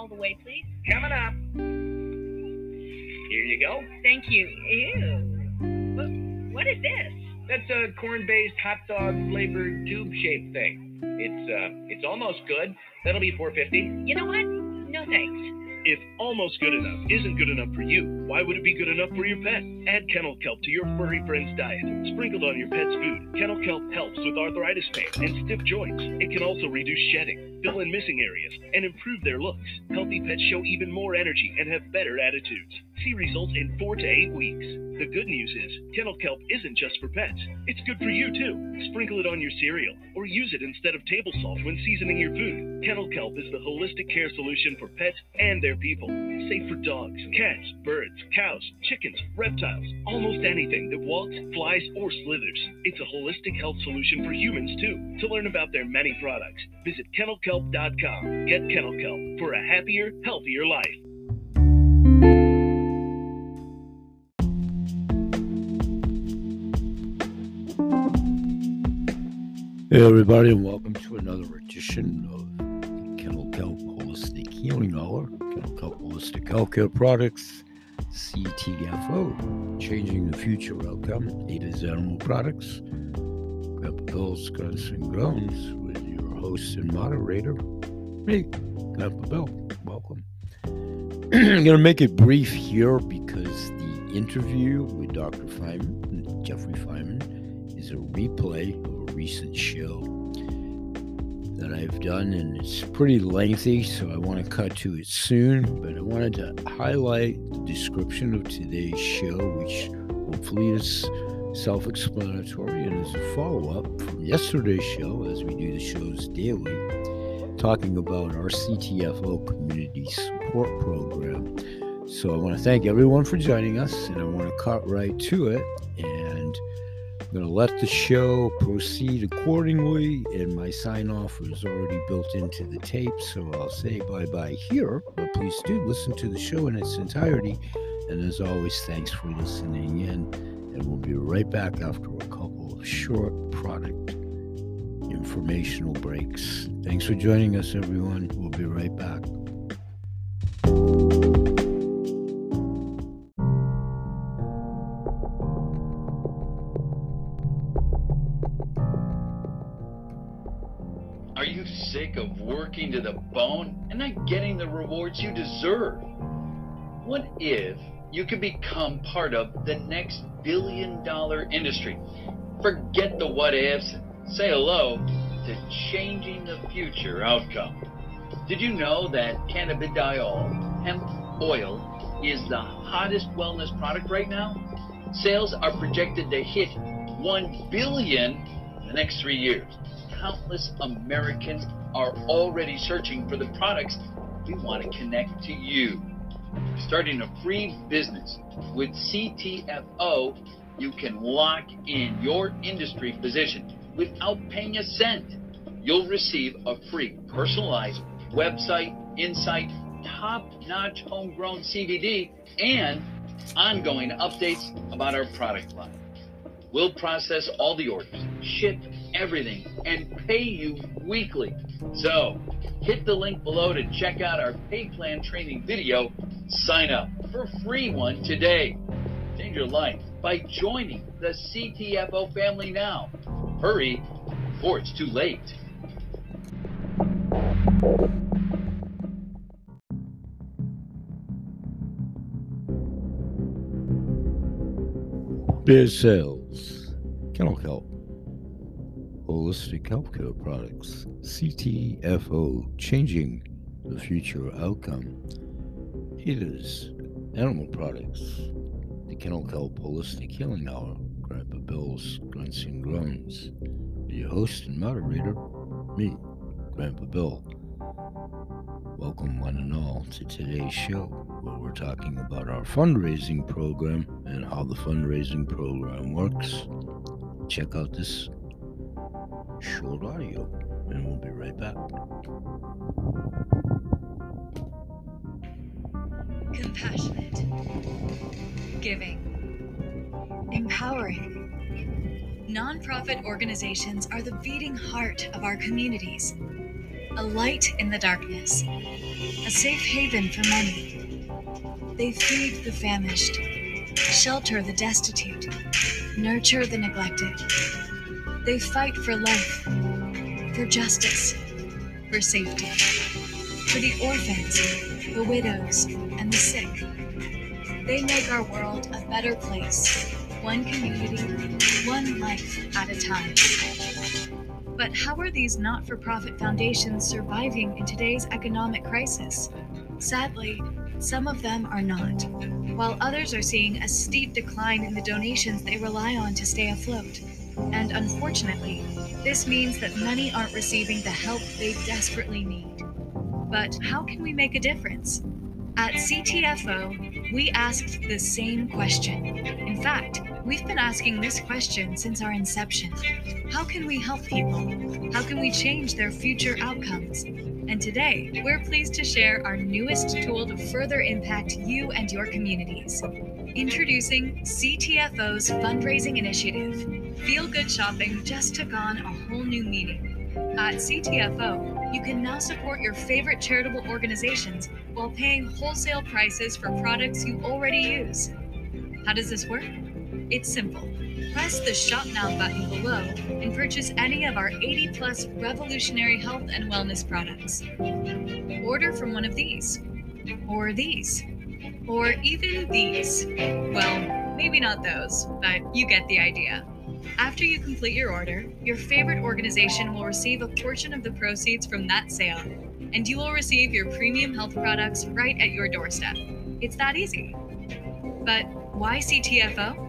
all the way, please. Coming up. Here you go. Thank you. Ew. What is this? That's a corn-based hot dog flavored tube-shaped thing. It's almost good. That'll be $4.50. You know what? No thanks. If almost good enough isn't good enough for you, why would it be good enough for your pet? Add kennel kelp to your furry friend's diet. Sprinkled on your pet's food, kennel kelp helps with arthritis pain and stiff joints. It can also reduce shedding, fill in missing areas, and improve their looks. Healthy pets show even more energy and have better attitudes. See results in 4 to 8 weeks. The good news is, kennel kelp isn't just for pets. It's good for you too. Sprinkle it on your cereal, or use it instead of table salt when seasoning your food. Kennel kelp is the holistic care solution for pets and their people. Safe for dogs, cats, birds, cows, chickens, reptiles, almost anything that walks, flies, or slithers. It's a holistic health solution for humans too. To learn about their many products, visit kennelkelp.com. Get Kennel Kelp for a happier, healthier life. Hey everybody, and welcome to another edition of the Kennel Kelp Holistic Healing Hour. Kennel Kelp Holistic Healthcare Products, CTFO, changing the future outcome. It is Animal Products. Grandpa Bill's Grunts and Groans with your host and moderator, me, Grandpa Bill. Welcome. I'm going to make it brief here because the interview with Dr. Feynman, Jeffrey Feynman, is a replay of a recent show that I've done, and it's pretty lengthy, so I want to cut to it soon, but I wanted to highlight the description of today's show, which hopefully is self-explanatory and is a follow-up from yesterday's show, as we do the shows daily, talking about our CTFO Community Support Program. So I want to thank everyone for joining us, and I want to cut right to it, and I'm going to let the show proceed accordingly, and my sign-off is already built into the tape, so I'll say bye-bye here, but please do listen to the show in its entirety, and as always, thanks for listening in, and we'll be right back after a couple of short product informational breaks. Thanks for joining us, everyone. We'll be right back. Are you sick of working to the bone and not getting the rewards you deserve? What if you could become part of the next billion-dollar industry? Forget the what ifs and say hello to changing the future outcome. Did you know that cannabidiol, hemp oil, is the hottest wellness product right now? Sales are projected to hit $1 billion in the next 3 years. Countless Americans are already searching for the products. We want to connect to you. Starting a free business with CTFO, you can lock in your industry position without paying a cent. You'll receive a free personalized website, insight, top-notch homegrown CBD, and ongoing updates about our product line. We'll process all the orders, ship everything, and pay you weekly. So, hit the link below to check out our pay plan training video. Sign up for a free one today. Change your life by joining the CTFO family now. Hurry before it's too late. Beer Sales, Kennel Kelp, Holistic Healthcare Products, CTFO, changing the future outcome. It is Animal Products, the Kennel Kelp Holistic Healing Hour, Grandpa Bill's Grunts and Groans. Your host and moderator, me, Grandpa Bill. Welcome one and all to today's show, where we're talking about our fundraising program and how the fundraising program works. Check out this short audio, and we'll be right back. Compassionate, giving, empowering. Nonprofit organizations are the beating heart of our communities. A light in the darkness, a safe haven for many. They feed the famished, shelter the destitute, nurture the neglected. They fight for life, for justice, for safety, for the orphans, the widows, and the sick. They make our world a better place, one community, one life at a time. But how are these not-for-profit foundations surviving in today's economic crisis? Sadly, some of them are not, while others are seeing a steep decline in the donations they rely on to stay afloat. And unfortunately, this means that many aren't receiving the help they desperately need. But how can we make a difference? At CTFO, we asked the same question. In fact, we've been asking this question since our inception. How can we help people? How can we change their future outcomes? And today, we're pleased to share our newest tool to further impact you and your communities. Introducing CTFO's fundraising initiative. Feel Good Shopping just took on a whole new meaning. At CTFO, you can now support your favorite charitable organizations while paying wholesale prices for products you already use. How does this work? It's simple. Press the Shop Now button below and purchase any of our 80-plus revolutionary health and wellness products. Order from one of these, or these, or even these. Well, maybe not those, but you get the idea. After you complete your order, your favorite organization will receive a portion of the proceeds from that sale, and you will receive your premium health products right at your doorstep. It's that easy. But why CTFO?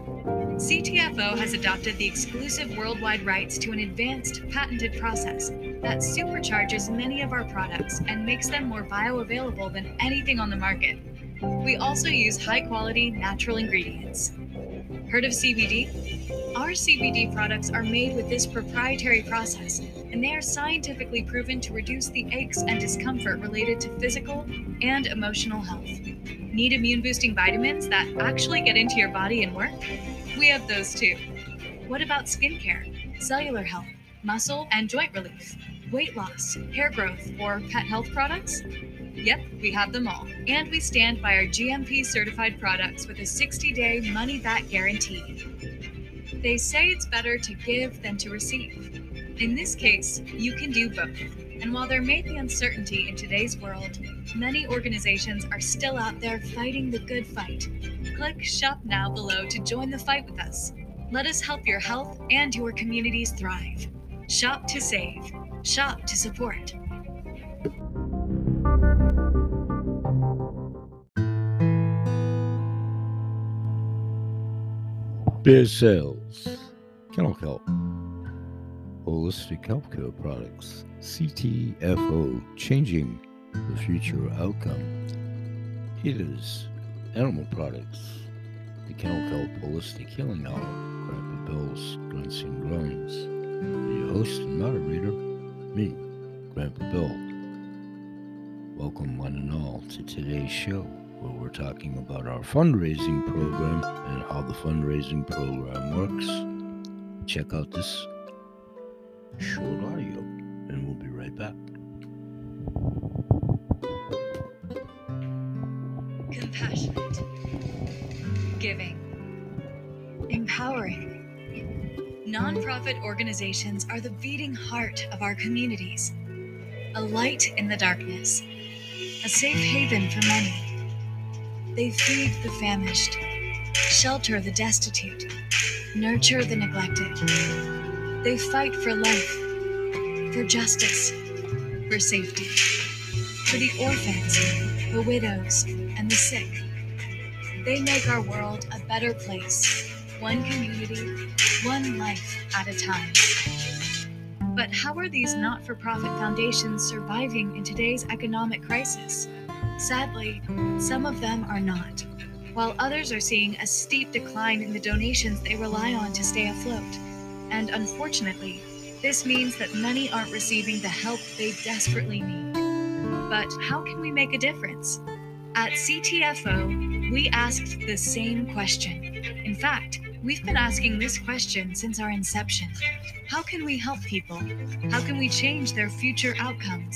CTFO has adopted the exclusive worldwide rights to an advanced patented process that supercharges many of our products and makes them more bioavailable than anything on the market. We also use high-quality natural ingredients. Heard of CBD? Our CBD products are made with this proprietary process, and they are scientifically proven to reduce the aches and discomfort related to physical and emotional health. Need immune-boosting vitamins that actually get into your body and work? We have those too. What about skincare, cellular health, muscle and joint relief, weight loss, hair growth, or pet health products? Yep, we have them all. And we stand by our GMP certified products with a 60-day money-back guarantee. They say it's better to give than to receive. In this case, you can do both. And while there may be uncertainty in today's world, many organizations are still out there fighting the good fight. Click Shop Now below to join the fight with us. Let us help your health and your communities thrive. Shop to save. Shop to support. Beer sales, kennel kelp, holistic healthcare products, CTFO, changing the future outcome. Heaters, animal products, the Kennel Kelp Holistic Healing Hour, Grandpa Bill's Grunts and Groans. Your host and moderator, me, Grandpa Bill. Welcome one and all to today's show, where we're talking about our fundraising program and how the fundraising program works. Check out this short audio, and we'll be right back. Compassionate, giving, empowering. Nonprofit organizations are the beating heart of our communities. A light in the darkness, a safe haven for many. They feed the famished, shelter the destitute, nurture the neglected. They fight for life, for justice, for safety, for the orphans, the widows, and the sick. They make our world a better place, one community, one life at a time. But how are these not-for-profit foundations surviving in today's economic crisis? Sadly, some of them are not, while others are seeing a steep decline in the donations they rely on to stay afloat. And unfortunately, this means that many aren't receiving the help they desperately need. But how can we make a difference? At CTFO, we asked the same question. In fact, we've been asking this question since our inception. How can we help people? How can we change their future outcomes?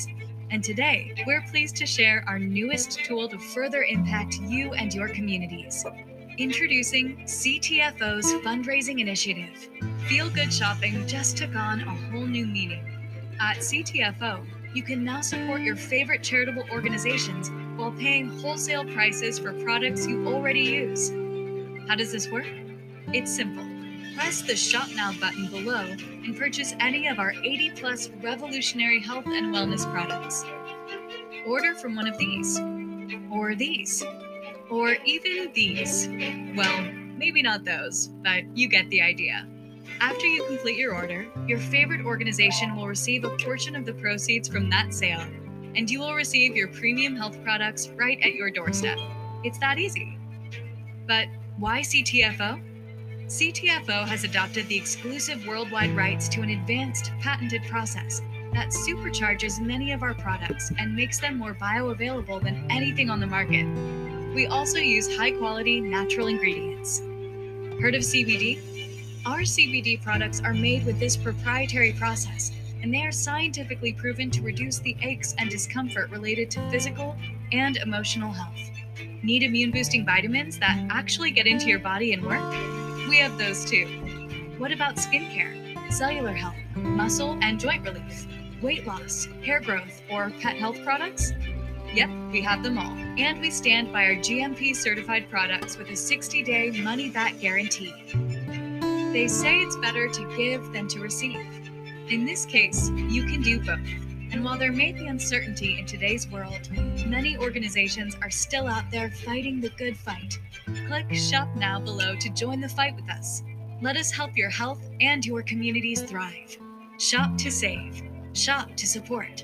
And today, we're pleased to share our newest tool to further impact you and your communities. Introducing CTFO's fundraising initiative. Feel Good Shopping just took on a whole new meaning. At CTFO, you can now support your favorite charitable organizations while paying wholesale prices for products you already use. How does this work? It's simple. Press the Shop Now button below and purchase any of our 80+ revolutionary health and wellness products. Order from one of these, or these, or even these. Well, maybe not those, but you get the idea. After you complete your order, your favorite organization will receive a portion of the proceeds from that sale, and you will receive your premium health products right at your doorstep. It's that easy. But why CTFO? CTFO has adopted the exclusive worldwide rights to an advanced patented process that supercharges many of our products and makes them more bioavailable than anything on the market. We also use high-quality natural ingredients. Heard of CBD? Our CBD products are made with this proprietary process, and they are scientifically proven to reduce the aches and discomfort related to physical and emotional health. Need immune-boosting vitamins that actually get into your body and work? We have those too. What about skincare, cellular health, muscle and joint relief, weight loss, hair growth, or pet health products? Yep, we have them all. And we stand by our GMP certified products with a 60-day money-back guarantee. They say it's better to give than to receive. In this case, you can do both. And while there may be uncertainty in today's world, many organizations are still out there fighting the good fight. Click Shop Now below to join the fight with us. Let us help your health and your communities thrive. Shop to save. Shop to support.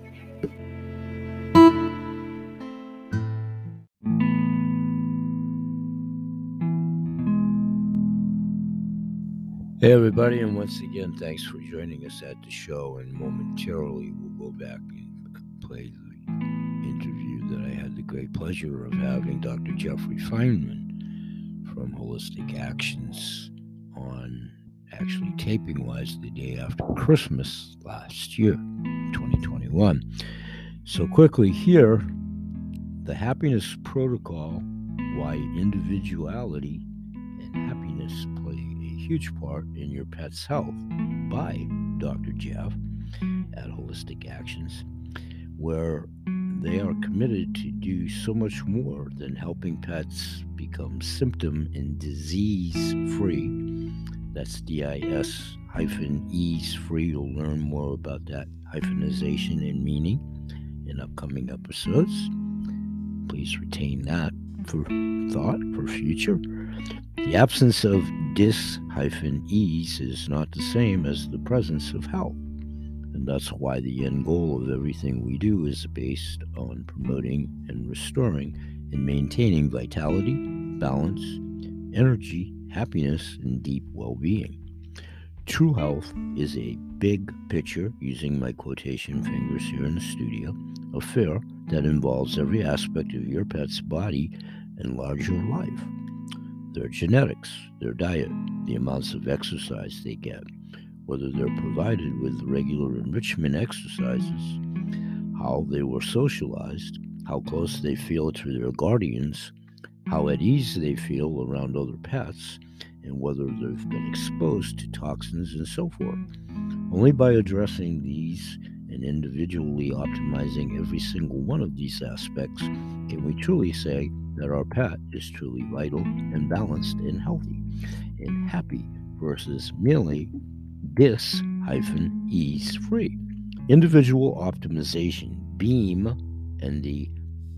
Hey, everybody, and once again, thanks for joining us at the show. And momentarily, we'll go back and play the interview that I had the great pleasure of having Dr. Jeffrey Feynman from Holistic Actions on, actually taping-wise, the day after Christmas last year, 2021. So quickly here, the happiness protocol, why individuality and happiness play huge part in your pet's health, by Dr. Jeff at Holistic Actions, where they are committed to do so much more than helping pets become symptom and disease-free. That's DIS-ease free. You'll learn more about that hyphenization and meaning in upcoming episodes. Please retain that for thought for future. The absence of dis-ease is not the same as the presence of health. And that's why the end goal of everything we do is based on promoting and restoring and maintaining vitality, balance, energy, happiness, and deep well-being. True health is a big picture, using my quotation fingers here in the studio, affair that involves every aspect of your pet's body and larger life. Their genetics, their diet, the amounts of exercise they get, whether they're provided with regular enrichment exercises, how they were socialized, how close they feel to their guardians, how at ease they feel around other pets, and whether they've been exposed to toxins and so forth. Only by addressing these and individually optimizing every single one of these aspects can we truly say that our pet is truly vital and balanced and healthy and happy versus merely dis-ease free. Individual optimization, BEAM, and the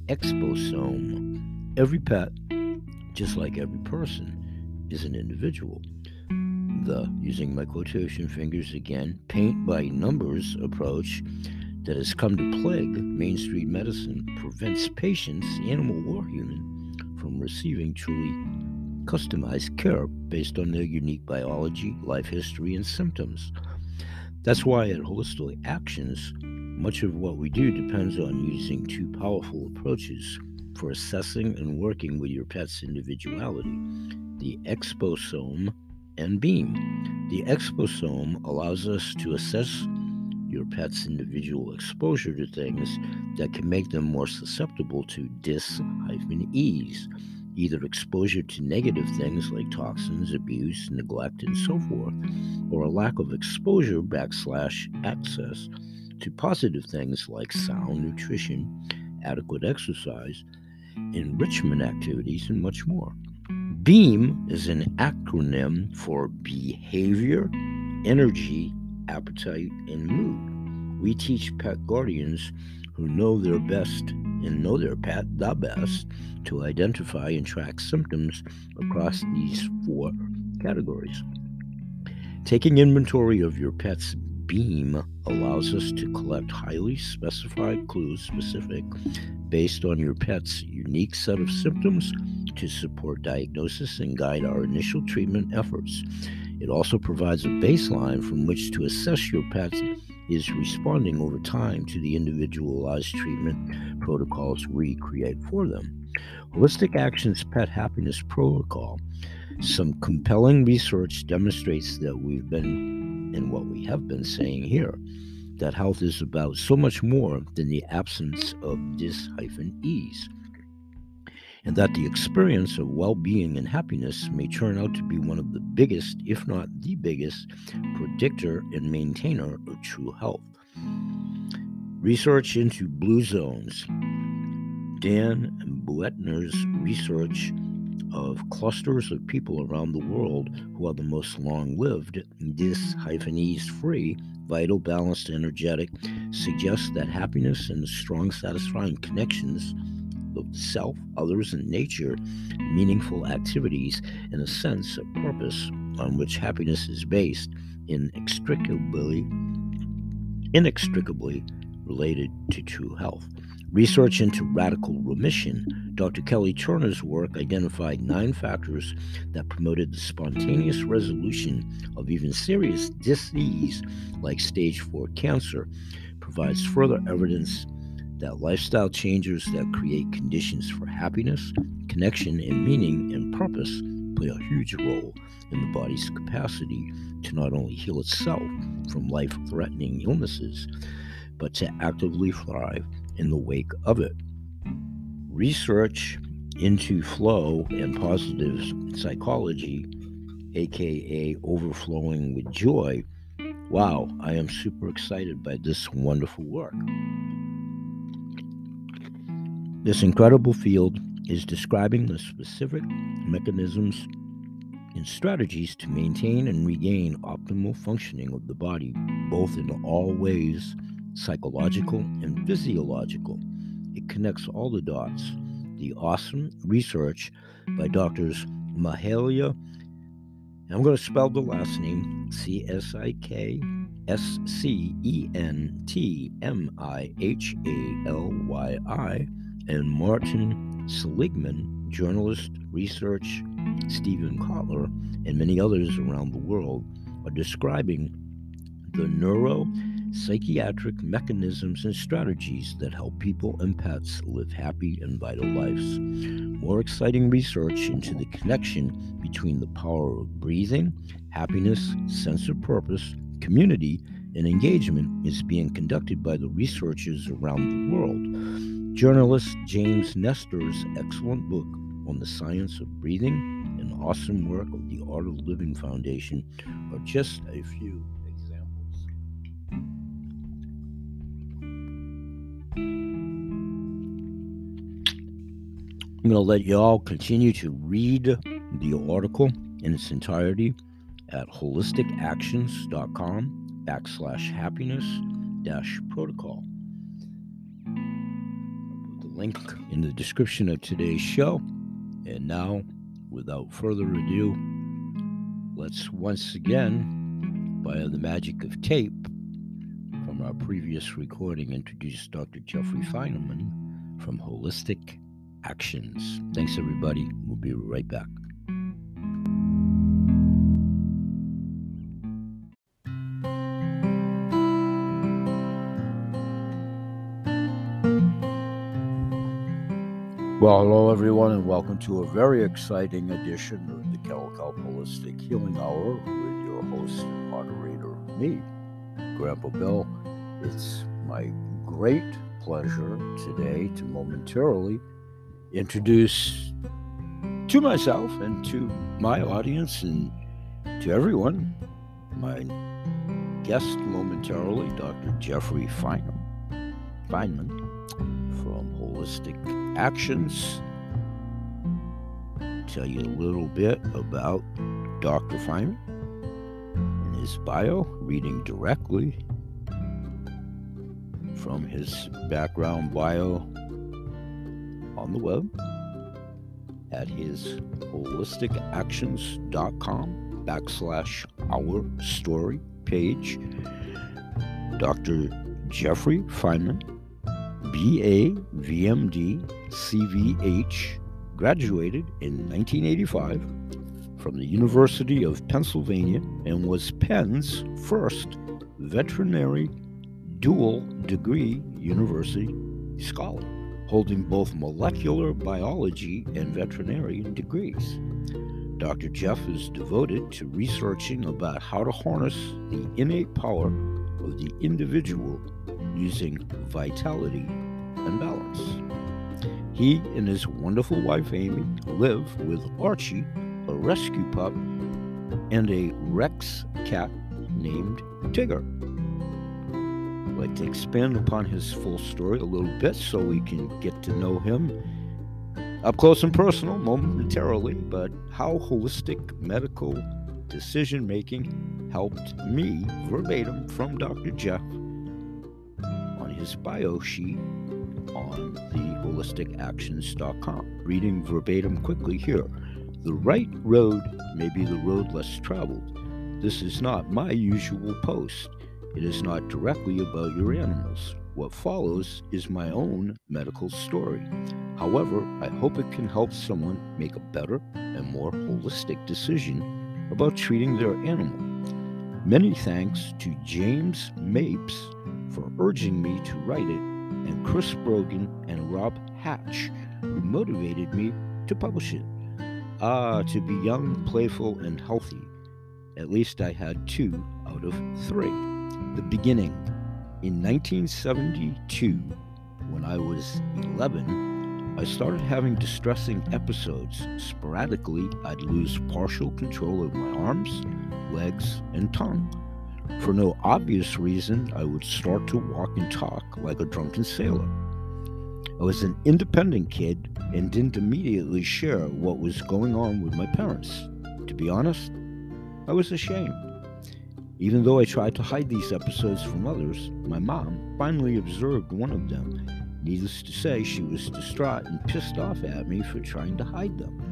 exposome. Every pet, just like every person, is an individual. The, using my quotation fingers again, paint by numbers approach that has come to plague mainstream medicine prevents patients, animal or human, from receiving truly customized care based on their unique biology, life history, and symptoms. That's why at Holistic Actions, much of what we do depends on using two powerful approaches for assessing and working with your pet's individuality: the exposome and BEAM. The exposome allows us to assess your your pet's individual exposure to things that can make them more susceptible to dis-ease, either exposure to negative things like toxins, abuse, neglect, and so forth, or a lack of exposure / access to positive things like sound nutrition, adequate exercise, enrichment activities, and much more. BEAM is an acronym for Behavior, Energy, Appetite, and Mood. We teach pet guardians who know their best and know their pet the best to identify and track symptoms across these 4 categories. Taking inventory of your pet's BEAM allows us to collect highly specified clues specific based on your pet's unique set of symptoms to support diagnosis and guide our initial treatment efforts. It also provides a baseline from which to assess your pet is responding over time to the individualized treatment protocols we create for them. Holistic Actions Pet Happiness Protocol. Some compelling research demonstrates that we have been saying here, that health is about so much more than the absence of dis-ease, and that the experience of well-being and happiness may turn out to be one of the biggest, if not the biggest, predictor and maintainer of true health. Research into blue zones. Dan Buettner's research of clusters of people around the world who are the most long-lived, dis-ease-free, vital, balanced, energetic, suggests that happiness and strong, satisfying connections of self, others, and nature, meaningful activities, and a sense of purpose on which happiness is based, inextricably related to true health. Research into radical remission. Dr. Kelly Turner's work identified 9 factors that promoted the spontaneous resolution of even serious disease like stage 4 cancer, provides further evidence that lifestyle changes that create conditions for happiness, connection, and meaning and purpose play a huge role in the body's capacity to not only heal itself from life-threatening illnesses, but to actively thrive in the wake of it. Research into flow and positive psychology, aka overflowing with joy. Wow, I am super excited by this wonderful work. This incredible field is describing the specific mechanisms and strategies to maintain and regain optimal functioning of the body, both in all ways, psychological and physiological. It connects all the dots. The awesome research by Drs. Mahalia, and I'm going to spell the last name, CSIKSCENTMIHALYI, and Martin Seligman, journalist, research, Stephen Kotler, and many others around the world are describing the neuropsychiatric mechanisms and strategies that help people and pets live happy and vital lives. More exciting research into the connection between the power of breathing, happiness, sense of purpose, community, and engagement is being conducted by the researchers around the world. Journalist James Nestor's excellent book on the science of breathing and awesome work of the Art of Living Foundation are just a few examples. I'm going to let you all continue to read the article in its entirety at holisticactions.com/happiness-protocol. Link in the description of today's show. And now, without further ado, let's once again, by the magic of tape from our previous recording, introduce Dr. Jeffrey Feinerman from Holistic Actions. Thanks, everybody. We'll be right back. Well, hello everyone, and welcome to a very exciting edition of the Kennel Kelp Holistic Healing Hour with your host and moderator, me, Grandpa Bill. It's my great pleasure today to momentarily introduce to myself and to my audience and to everyone my guest momentarily, Dr. Jeffrey Feynman from Holistic Actions. Tell you a little bit about Dr. Feynman in his bio, reading directly from his background bio on the web at his holisticactions.com/our story page. Dr. Jeffrey Feynman, BA, VMD, CVH, graduated in 1985 from the University of Pennsylvania and was Penn's first veterinary dual degree university scholar, holding both molecular biology and veterinarian degrees. Dr. Jeff is devoted to researching about how to harness the innate power of the individual using vitality and balance. He and his wonderful wife Amy live with Archie, a rescue pup, and a Rex cat named Tigger. I'd like to expand upon his full story a little bit so we can get to know him up close and personal momentarily, but how holistic medical decision making helped me verbatim from Dr. Jeff on his bio sheet on the holisticactions.com. Reading verbatim quickly here. The right road may be the road less traveled. This is not my usual post. It is not directly about your animals. What follows is my own medical story. However, I hope it can help someone make a better and more holistic decision about treating their animal. Many thanks to James Mapes for urging me to write it, and Chris Brogan and Rob Hatch, who motivated me to publish it. To be young, playful, and healthy. At least I had 2 out of 3. The beginning. In 1972, when I was 11, I started having distressing episodes. Sporadically, I'd lose partial control of my arms, legs, and tongue. For no obvious reason, I would start to walk and talk like a drunken sailor. I was an independent kid and didn't immediately share what was going on with my parents. To be honest, I was ashamed. Even though I tried to hide these episodes from others, my mom finally observed one of them. Needless to say, she was distraught and pissed off at me for trying to hide them.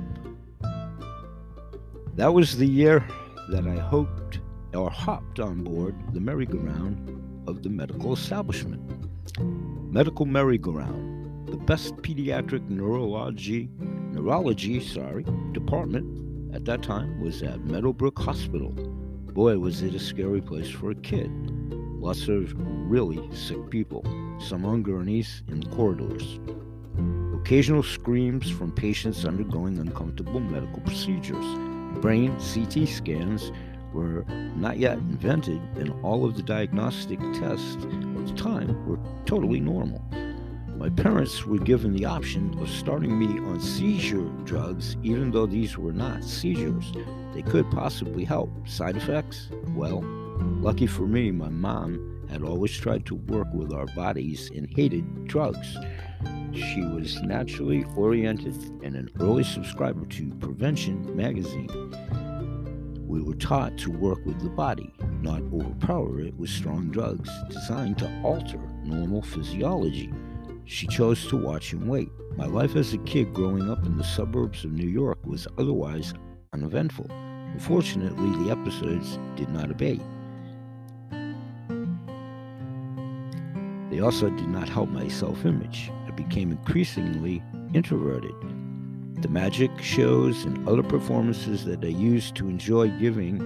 That was the year that I hopped on board the merry-go-round of the medical establishment. Medical merry-go-round, the best pediatric neurology department at that time was at Meadowbrook Hospital. Boy, was it a scary place for a kid. Lots of really sick people, some on gurneys in the corridors. Occasional screams from patients undergoing uncomfortable medical procedures. Brain CT scans were not yet invented, and all of the diagnostic tests of the time were totally normal. My parents were given the option of starting me on seizure drugs, even though these were not seizures. They could possibly help. Side effects? Well, lucky for me, my mom had always tried to work with our bodies and hated drugs. She was naturally oriented and an early subscriber to Prevention magazine. We were taught to work with the body, not overpower it with strong drugs designed to alter normal physiology. She chose to watch and wait. My life as a kid growing up in the suburbs of New York was otherwise uneventful. Unfortunately, the episodes did not abate. They also did not help my self-image. I became increasingly introverted. The magic shows and other performances that I used to enjoy giving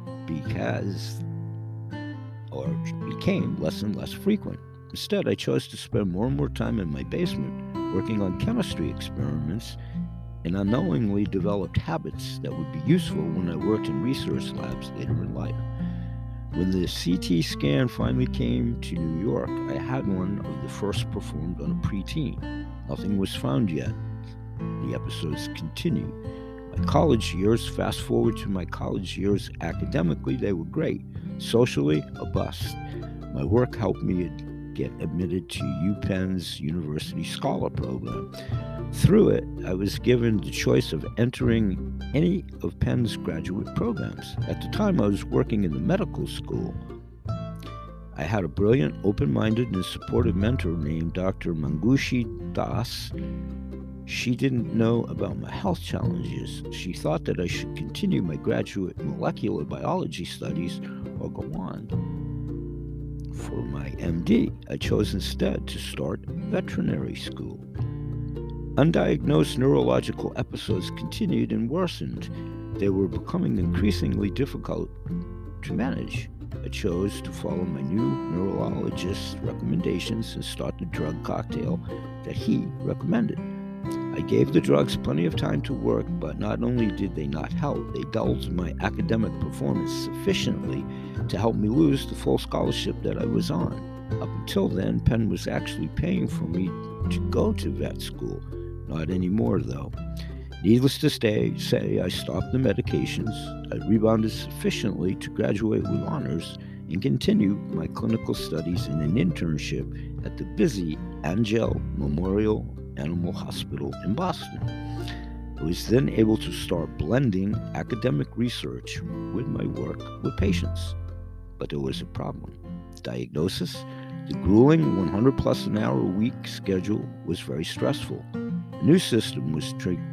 became less and less frequent. Instead, I chose to spend more and more time in my basement working on chemistry experiments and unknowingly developed habits that would be useful when I worked in research labs later in life. When the CT scan finally came to New York, I had one of the first performed on a preteen. Nothing was found yet. The episodes continue. My college years, fast forward to my college years, academically, they were great. Socially, a bust. My work helped me get admitted to UPenn's University Scholar Program. Through it, I was given the choice of entering any of Penn's graduate programs. At the time, I was working in the medical school. I had a brilliant, open-minded, and supportive mentor named Dr. Mangushi Das. She didn't know about my health challenges. She thought that I should continue my graduate molecular biology studies or go on. For my MD, I chose instead to start veterinary school. Undiagnosed neurological episodes continued and worsened. They were becoming increasingly difficult to manage. I chose to follow my new neurologist's recommendations and start the drug cocktail that he recommended. I gave the drugs plenty of time to work, but not only did they not help, they dulled my academic performance sufficiently to help me lose the full scholarship that I was on. Up until then, Penn was actually paying for me to go to vet school. Not anymore, though. Needless to say, I stopped the medications. I rebounded sufficiently to graduate with honors and continue my clinical studies in an internship at the busy Angell Memorial Animal Hospital in Boston. I was then able to start blending academic research with my work with patients. But there was a problem. Diagnosis: the grueling 100 plus an hour a week schedule was very stressful. A new symptom was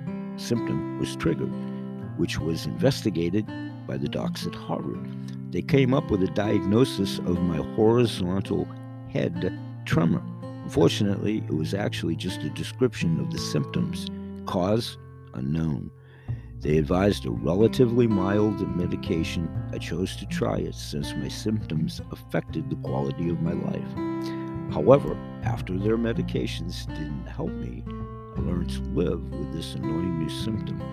triggered, which was investigated by the docs at Harvard. They came up with a diagnosis of my horizontal head tremor. Unfortunately, it was actually just a description of the symptoms. Cause unknown. They advised a relatively mild medication. I chose to try it since my symptoms affected the quality of my life. However, after their medications didn't help me, I learned to live with this annoying new symptom.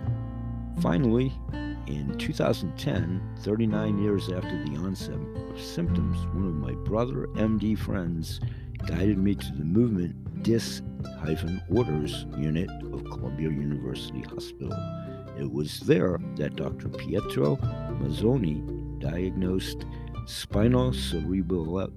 Finally, in 2010, 39 years after the onset of symptoms, one of my brother MD friends guided me to the movement DIS-Orders unit of Columbia University Hospital. It was there that Dr. Pietro Mazzoni diagnosed spinocerebellar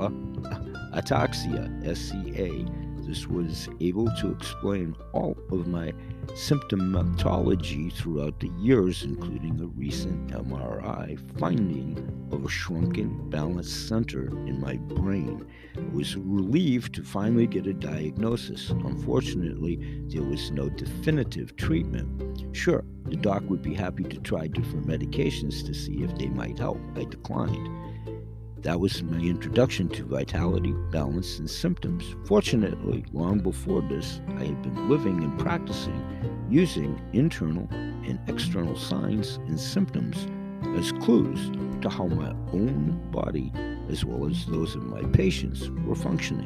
ataxia, SCA. This was able to explain all of my symptomatology throughout the years, including a recent MRI finding of a shrunken balance center in my brain. I was relieved to finally get a diagnosis. Unfortunately, there was no definitive treatment. Sure, the doc would be happy to try different medications to see if they might help. I declined. That was my introduction to vitality, balance, and symptoms. Fortunately, long before this, I had been living and practicing using internal and external signs and symptoms as clues to how my own body, as well as those of my patients, were functioning.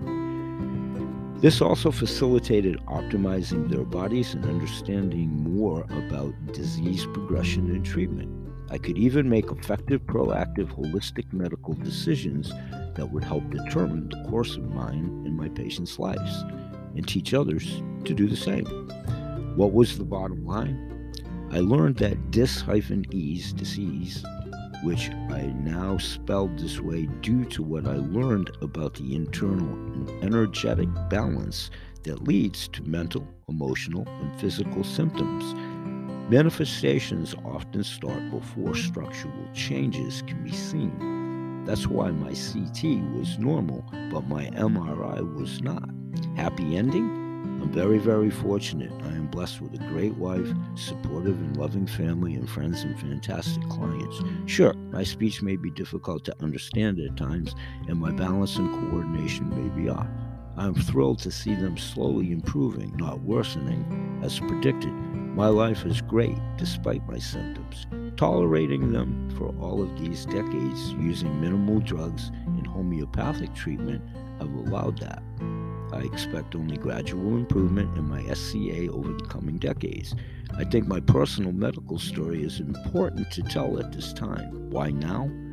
This also facilitated optimizing their bodies and understanding more about disease progression and treatment. I could even make effective, proactive, holistic medical decisions that would help determine the course of mine and my patients' lives, and teach others to do the same. What was the bottom line? I learned that DIS-ease disease, which I now spelled this way due to what I learned about the internal and energetic balance that leads to mental, emotional, and physical symptoms. Manifestations often start before structural changes can be seen. That's why my CT was normal, but my MRI was not. Happy ending? I'm very, very fortunate. I am blessed with a great wife, supportive and loving family, and friends and fantastic clients. Sure, my speech may be difficult to understand at times, and my balance and coordination may be off. I am thrilled to see them slowly improving, not worsening, as predicted. My life is great despite my symptoms. Tolerating them for all of these decades using minimal drugs and homeopathic treatment have allowed that. I expect only gradual improvement in my SCA over the coming decades. I think my personal medical story is important to tell at this time. Why now?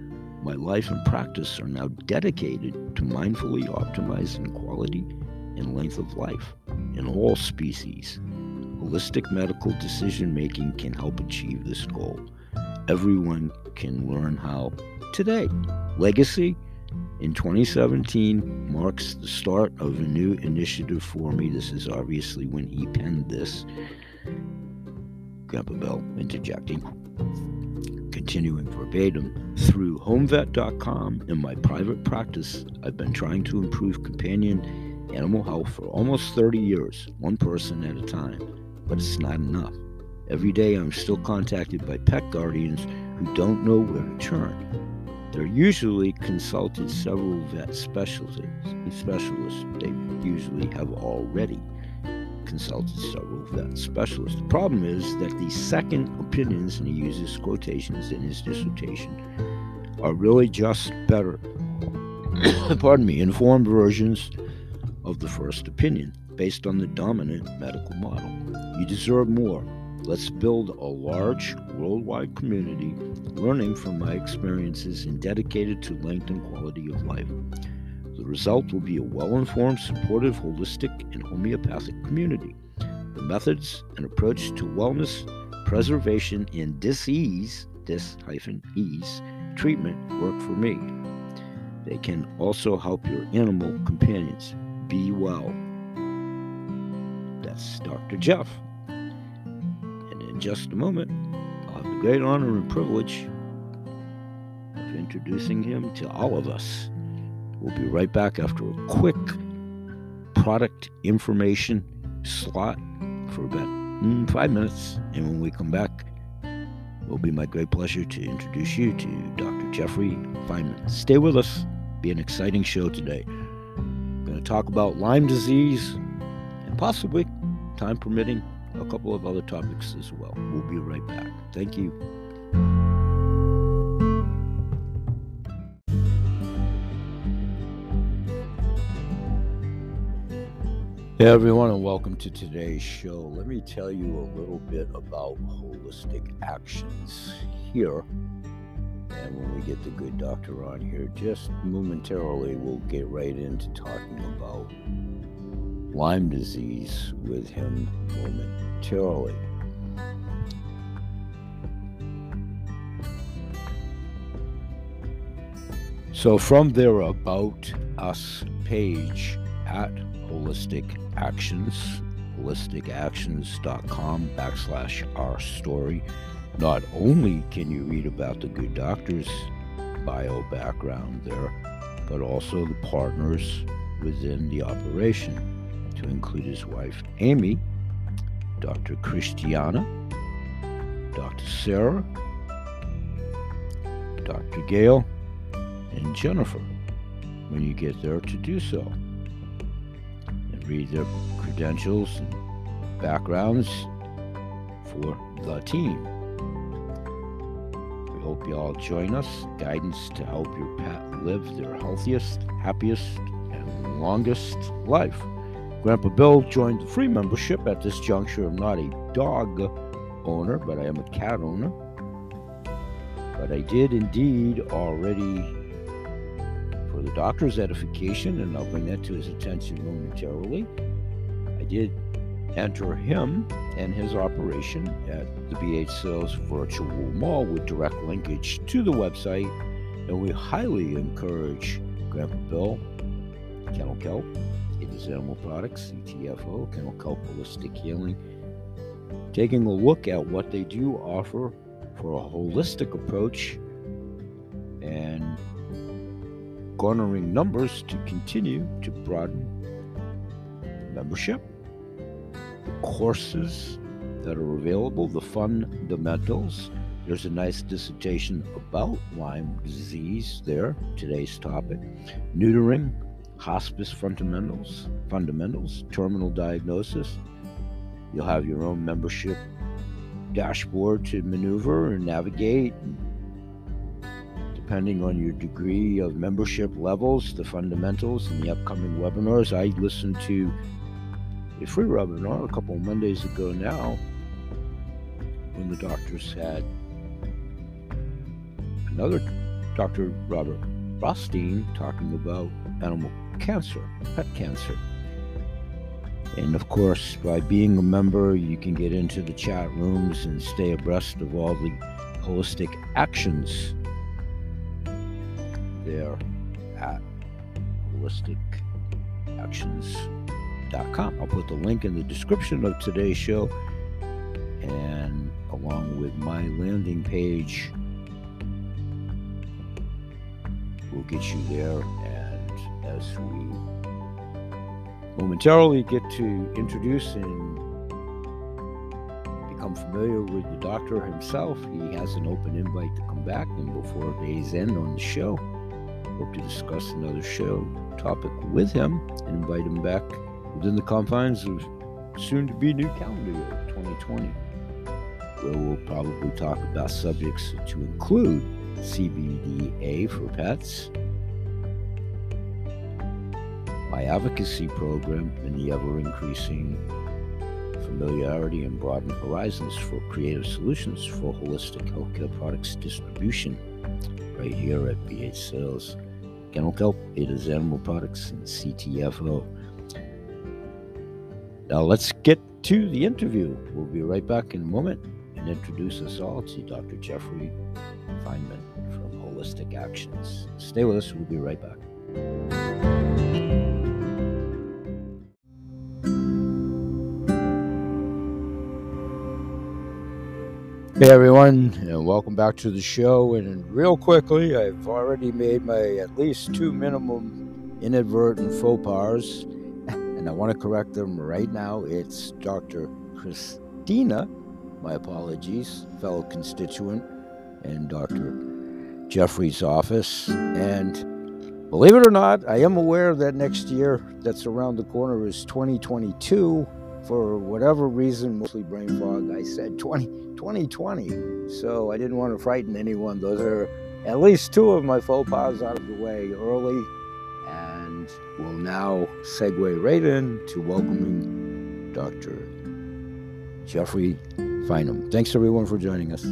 My life and practice are now dedicated to mindfully optimizing quality and length of life in all species. Holistic medical decision-making can help achieve this goal. Everyone can learn how today. Legacy in 2017 marks the start of a new initiative for me. This is obviously when he penned this. Grandpa Bell interjecting. Continuing verbatim, through HomeVet.com and my private practice, I've been trying to improve companion animal health for almost 30 years, one person at a time, but it's not enough. Every day I'm still contacted by pet guardians who don't know where to turn. They're usually consulted several vet specialists. They usually have already consulted several vet specialists. The problem is that the second opinions, and he uses quotations in his dissertation, are really just better, informed versions of the first opinion, based on the dominant medical model. You deserve more. Let's build a large worldwide community, learning from my experiences and dedicated to length and quality of life. The result will be a well-informed, supportive, holistic, and homeopathic community. The methods and approach to wellness, preservation, and dis-ease treatment work for me. They can also help your animal companions be well. That's Dr. Jeff. And in just a moment, I'll have the great honor and privilege of introducing him to all of us. We'll be right back after a quick product information slot for about 5 minutes. And when we come back, it will be my great pleasure to introduce you to Dr. Jeffrey Feynman. Stay with us. Be an exciting show today. We're going to talk about Lyme disease and possibly, time permitting, a couple of other topics as well. We'll be right back. Thank you. Hey everyone, and welcome to today's show. Let me tell you a little bit about Holistic Actions here. And when we get the good doctor on here, just momentarily, we'll get right into talking about Lyme disease with him momentarily. So from their About Us page at Holistic Actions, holisticactions.com/our story. Not only can you read about the good doctor's bio background there, but also the partners within the operation, to include his wife Amy, Dr. Christiana, Dr. Sarah, Dr. Gail, and Jennifer, when you get there to do so. Read their credentials and backgrounds for the team. We hope you all join us. Guidance to help your pet live their healthiest, happiest, and longest life. Grandpa Bill joined the free membership at this juncture. I'm not a dog owner, but I am a cat owner. But I did indeed already, for the doctor's edification, and I'll bring that to his attention momentarily, I did enter him and his operation at the BH Sales Virtual Mall with direct linkage to the website, and we highly encourage Grandpa Bill, Kennel Kelp, It Is Animal Products, CTFO, Kennel Kelp Holistic Healing, taking a look at what they do offer for a holistic approach and garnering numbers to continue to broaden membership, the courses that are available, the fundamentals. There's a nice dissertation about Lyme disease there, today's topic. Neutering, hospice fundamentals, terminal diagnosis. You'll have your own membership dashboard to maneuver and navigate. Depending on your degree of membership levels, the fundamentals, and the upcoming webinars. I listened to a free webinar a couple of Mondays ago now, when the doctors had another Dr. Robert Rothstein, talking about animal cancer, pet cancer. And of course, by being a member, you can get into the chat rooms and stay abreast of all the holistic actions there at holisticactions.com. I'll put the link in the description of today's show, and along with my landing page, we'll get you there. And as we momentarily get to introduce and become familiar with the doctor himself, he has an open invite to come back, and before day's end on the show, hope to discuss another show topic with him and invite him back within the confines of soon-to-be new calendar year 2020, where we'll probably talk about subjects to include CBDA for pets, my advocacy program, and the ever-increasing familiarity and broadened horizons for creative solutions for holistic healthcare products distribution right here at BH Sales, Kennel Kelp, Ada's Animal Products, and CTFO. Now let's get to the interview. We'll be right back in a moment and introduce us all to Dr. Jeffrey Feinman from Holistic Actions. Stay with us. We'll be right back. Hey everyone, and welcome back to the show. And real quickly, I've already made my at least 2 minimum inadvertent faux pas, and I want to correct them right now. It's Dr. Christina, my apologies, fellow constituent, and Dr. Jeffrey's office. And believe it or not, I am aware that next year that's around the corner is 2022. For whatever reason, mostly brain fog, I said 2020. So I didn't want to frighten anyone. Those are at least 2 of my faux pas out of the way early. And we'll now segue right into welcoming Dr. Jeffrey Feinman. Thanks everyone for joining us.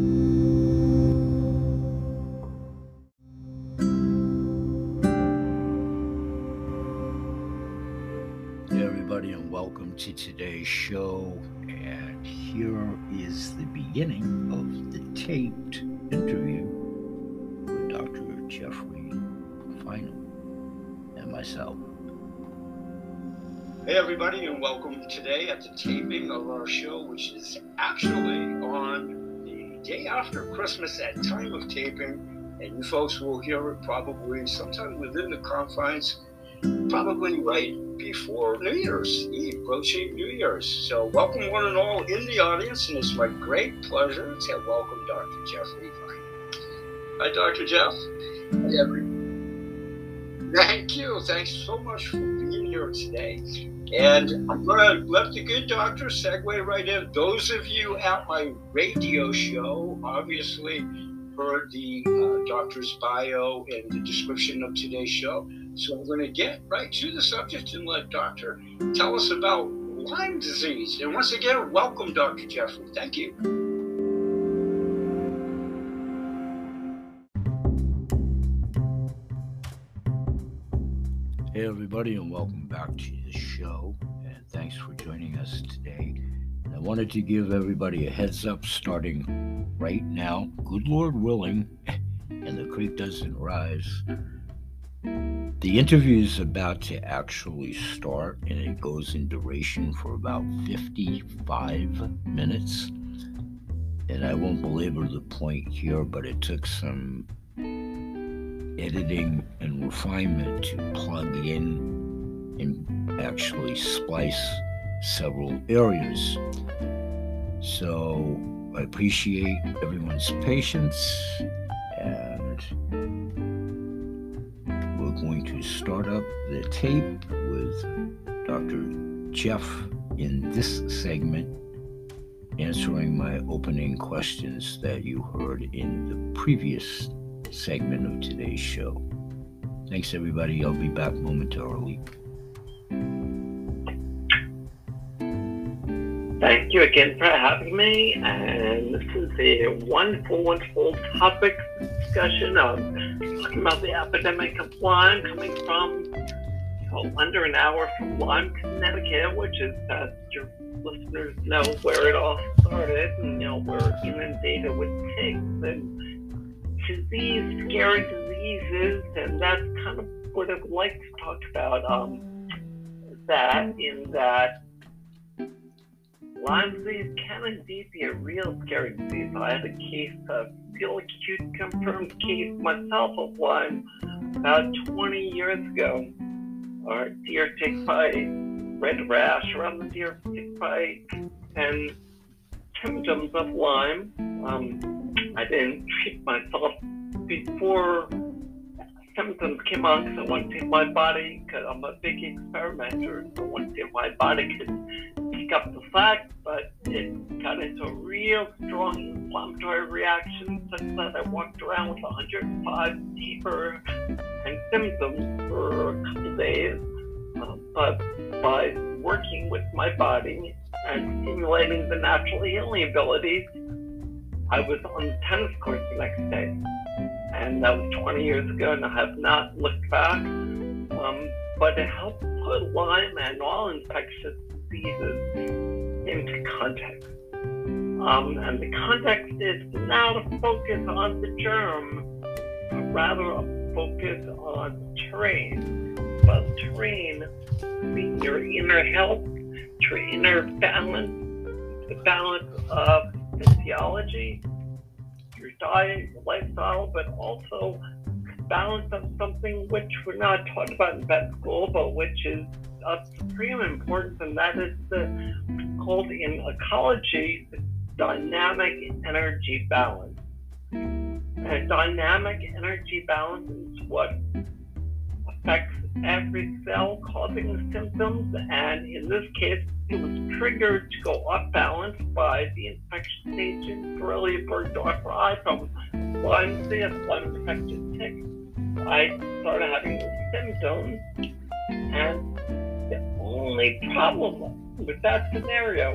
And welcome to today's show. And here is the beginning of the taped interview with Dr. Jeffrey Feinman and myself. Hey everybody, and welcome today at the taping of our show, which is actually on the day after Christmas at time of taping, and you folks will hear it probably sometime within the confines, probably right before New Year's Eve, approaching New Year's. So welcome one and all in the audience, and it's my great pleasure to welcome Dr. Jeffrey Feinman. Hi, Dr. Jeff. Hey, everyone. Thank you. Thanks so much for being here today. And I'm going to let the good doctor segue right in. Those of you at my radio show obviously heard the doctor's bio and the description of today's show. So I'm going to get right to the subject and let Doctor tell us about Lyme disease. And once again, welcome, Dr. Jeffrey. Thank you. Hey everybody, and welcome back to the show. And thanks for joining us today. And I wanted to give everybody a heads up starting right now, good Lord willing, and the creek doesn't rise. The interview is about to actually start, and it goes in duration for about 55 minutes. And I won't belabor the point here, but it took some editing and refinement to plug in and actually splice several areas. So I appreciate everyone's patience, and we're going to start up the tape with Dr. Jeff in this segment, answering my opening questions that you heard in the previous segment of today's show. Thanks everybody. I'll be back momentarily. Thank you again for having me, and this is a wonderful, wonderful topic discussion, talking about the epidemic of Lyme coming from under an hour from Lyme, Connecticut, which is, as your listeners know, where it all started. And, we're inundated with ticks and scary diseases, and that's kind of what I'd like to talk about. That Lyme disease can indeed be a real scary disease. I had a case, a real acute confirmed case myself of Lyme about 20 years ago. Our deer tick bite, red rash around the deer tick bite, and symptoms of Lyme. I didn't treat myself before symptoms came on because I wanted to see if my body, because I'm a big experimenter, so I wanted to see if my body could pick up the slack, but it got into a real strong inflammatory reaction such that I walked around with 105 fever and symptoms for a couple days. But by working with my body and stimulating the natural healing abilities, I was on the tennis court the next day. And that was 20 years ago, and I have not looked back. But it helped put Lyme and all infectious diseases into context. And the context is now to focus on the germ, but rather a focus on terrain. But terrain being your inner health, your inner balance, the balance of physiology, your diet, your lifestyle, but also balance of something which we're not taught about in vet school, but which is of supreme importance, and that is called in ecology the dynamic energy balance. And dynamic energy balance is what affects every cell causing the symptoms, and in this case it was triggered to go off balance by the infectious agent Borrelia burgdorferi from Lyme disease, Lyme infected tick. I started having the symptoms, and the only problem with that scenario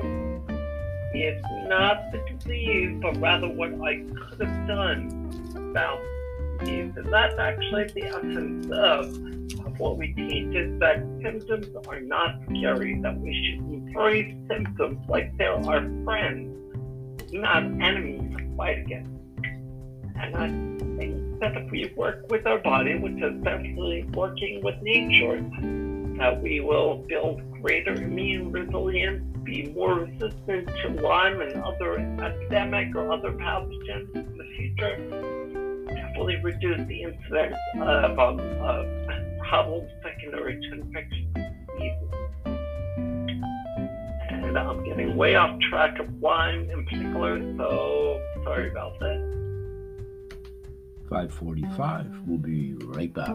is not the disease, but rather what I could have done about the disease. And that's actually the essence of what we teach, is that symptoms are not scary, that we should embrace symptoms like they're our friends, not enemies to fight against. And I think that if we work with our body, which is especially working with nature, that we will build greater immune resilience, be more resistant to Lyme and other epidemic or other pathogens in the future, definitely reduce the incidence of problems secondary to infectious diseases. And I'm getting way off track of Lyme in particular, so sorry about that. 5:45. We'll be right back.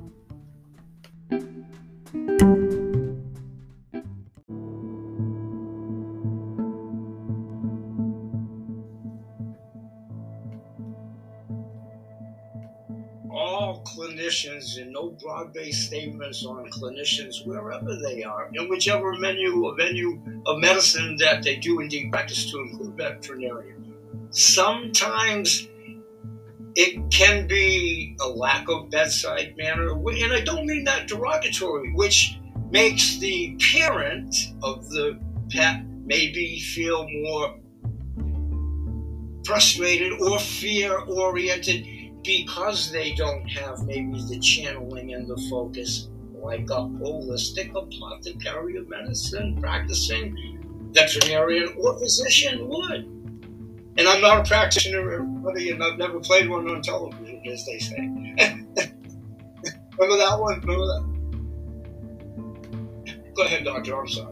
All clinicians, and no broad-based statements on clinicians wherever they are, in whichever venue of medicine that they do indeed practice, to include veterinarian. Sometimes it can be a lack of bedside manner, and I don't mean that derogatory, which makes the parent of the pet maybe feel more frustrated or fear-oriented because they don't have maybe the channeling and the focus like a holistic apothecary of medicine practicing veterinarian or physician would. And I'm not a practitioner, buddy, and I've never played one on television, as they say. Remember that one? Remember that? Go ahead, Doctor. I'm sorry.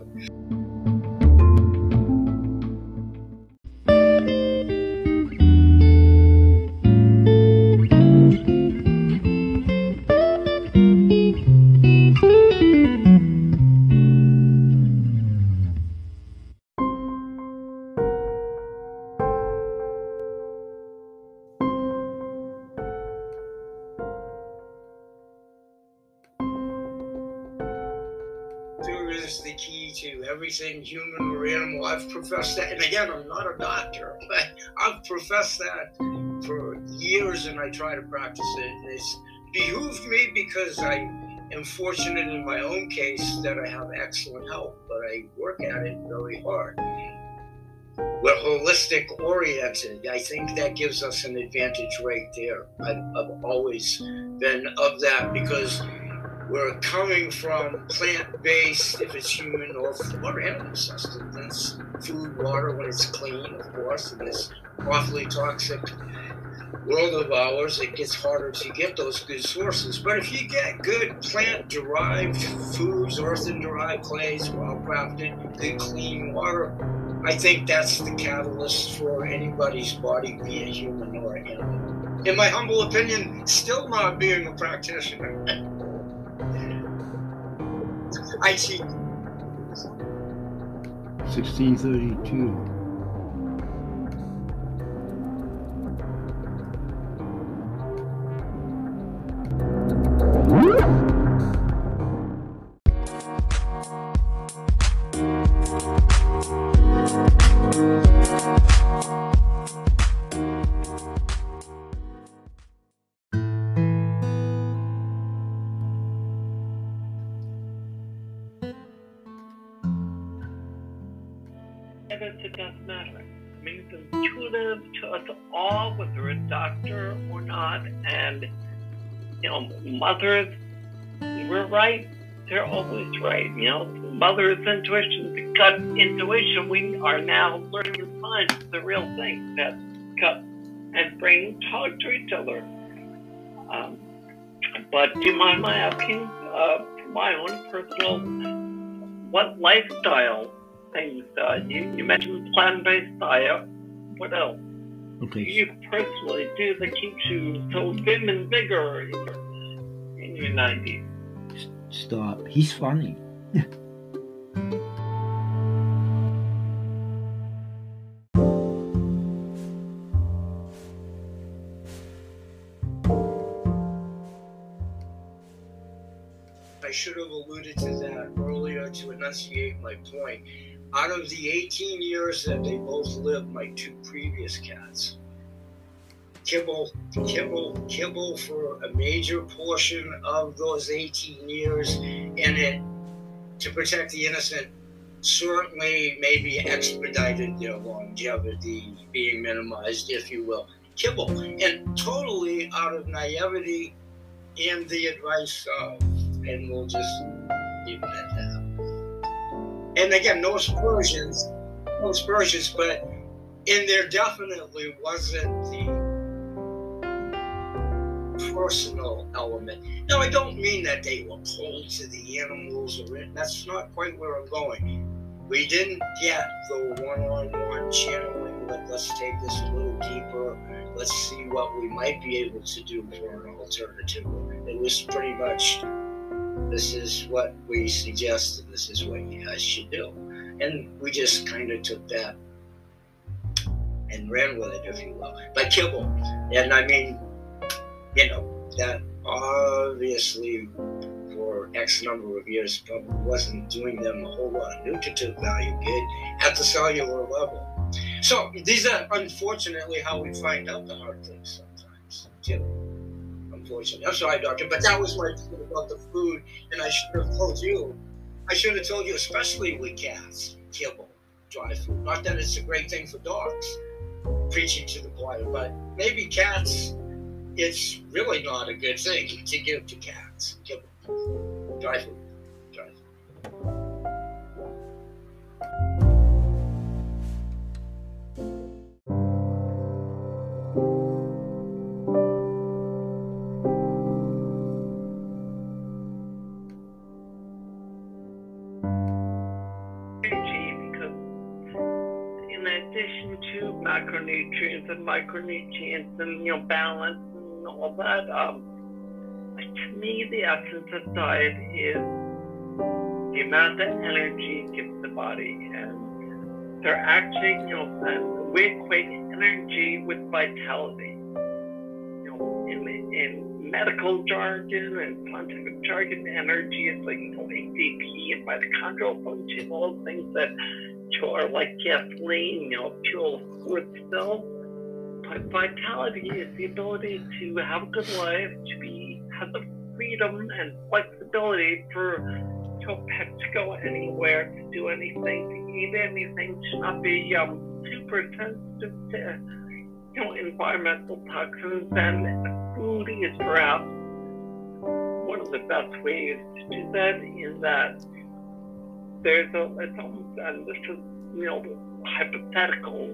Is the key to everything human or animal. I've professed that, and again, I'm not a doctor, but I've professed that for years, and I try to practice it. And it's behooved me because I am fortunate in my own case that I have excellent health, but I work at it very hard. We're holistic oriented. I think that gives us an advantage right there. I've always been of that because we're coming from plant-based, if it's human or animal sustenance, food, water when it's clean, of course, in this awfully toxic world of ours. It gets harder to get those good sources. But if you get good plant-derived foods, earthen-derived clays, well-crafted, good clean water, I think that's the catalyst for anybody's body, be it human or animal. In my humble opinion, still not being a practitioner. I cheat. 1632. It doesn't matter. I mean, it's intuitive to us all, whether a doctor or not. And, you know, mothers, we're right. They're always right. You know, mother's intuition, the gut intuition, we are now learning to find the real thing, that gut and brain talk to each other. But do you mind my asking, for my own personal, what lifestyle things, you mentioned plant-based diet, what else? Okay. Do you personally do that keeps you so vim and vigor in your 90s? Stop. He's funny. I should have alluded to that earlier to enunciate my point. Out of the 18 years that they both lived, my two previous cats, kibble for a major portion of those 18 years, and it, to protect the innocent, certainly maybe expedited their longevity, being minimized, if you will. Kibble, and totally out of naivety and the advice of, and we'll just leave it at that. And again, no aspersions, but in there definitely wasn't the personal element. Now, I don't mean that they were cold to the animals, or that's not quite where I'm going. We didn't get the one-on-one channeling, let's take this a little deeper, let's see what we might be able to do for an alternative. It was pretty much, this is what we suggest, and this is what you guys should do. And we just kind of took that and ran with it, if you will. But kibble. And I mean, you know, that obviously for X number of years probably wasn't doing them a whole lot of nutritive value good at the cellular level. So these are unfortunately how we find out the hard things sometimes, too. Unfortunately. I'm sorry, doctor, but that was my thing about the food, and I should have told you. I should have told you, especially with cats, kibble, dry food. Not that it's a great thing for dogs, preaching to the choir, but maybe cats, it's really not a good thing to give to cats. Kibble, dry food, dry food. Macronutrients and micronutrients and, you know, balance and all that. To me, the essence of diet is the amount of energy it gives the body, and they're actually, you know, and we equate energy with vitality. You know, in medical jargon and scientific jargon, energy is like, you know, ATP and mitochondrial function, all those things that are like gasoline, you know, fuel wood still. vitality is the ability to have a good life, have the freedom and flexibility for a pet to go anywhere, to do anything, to eat anything, to not be super sensitive to environmental toxins. And food is perhaps one of the best ways to do that. In that it's almost, and this is hypothetical.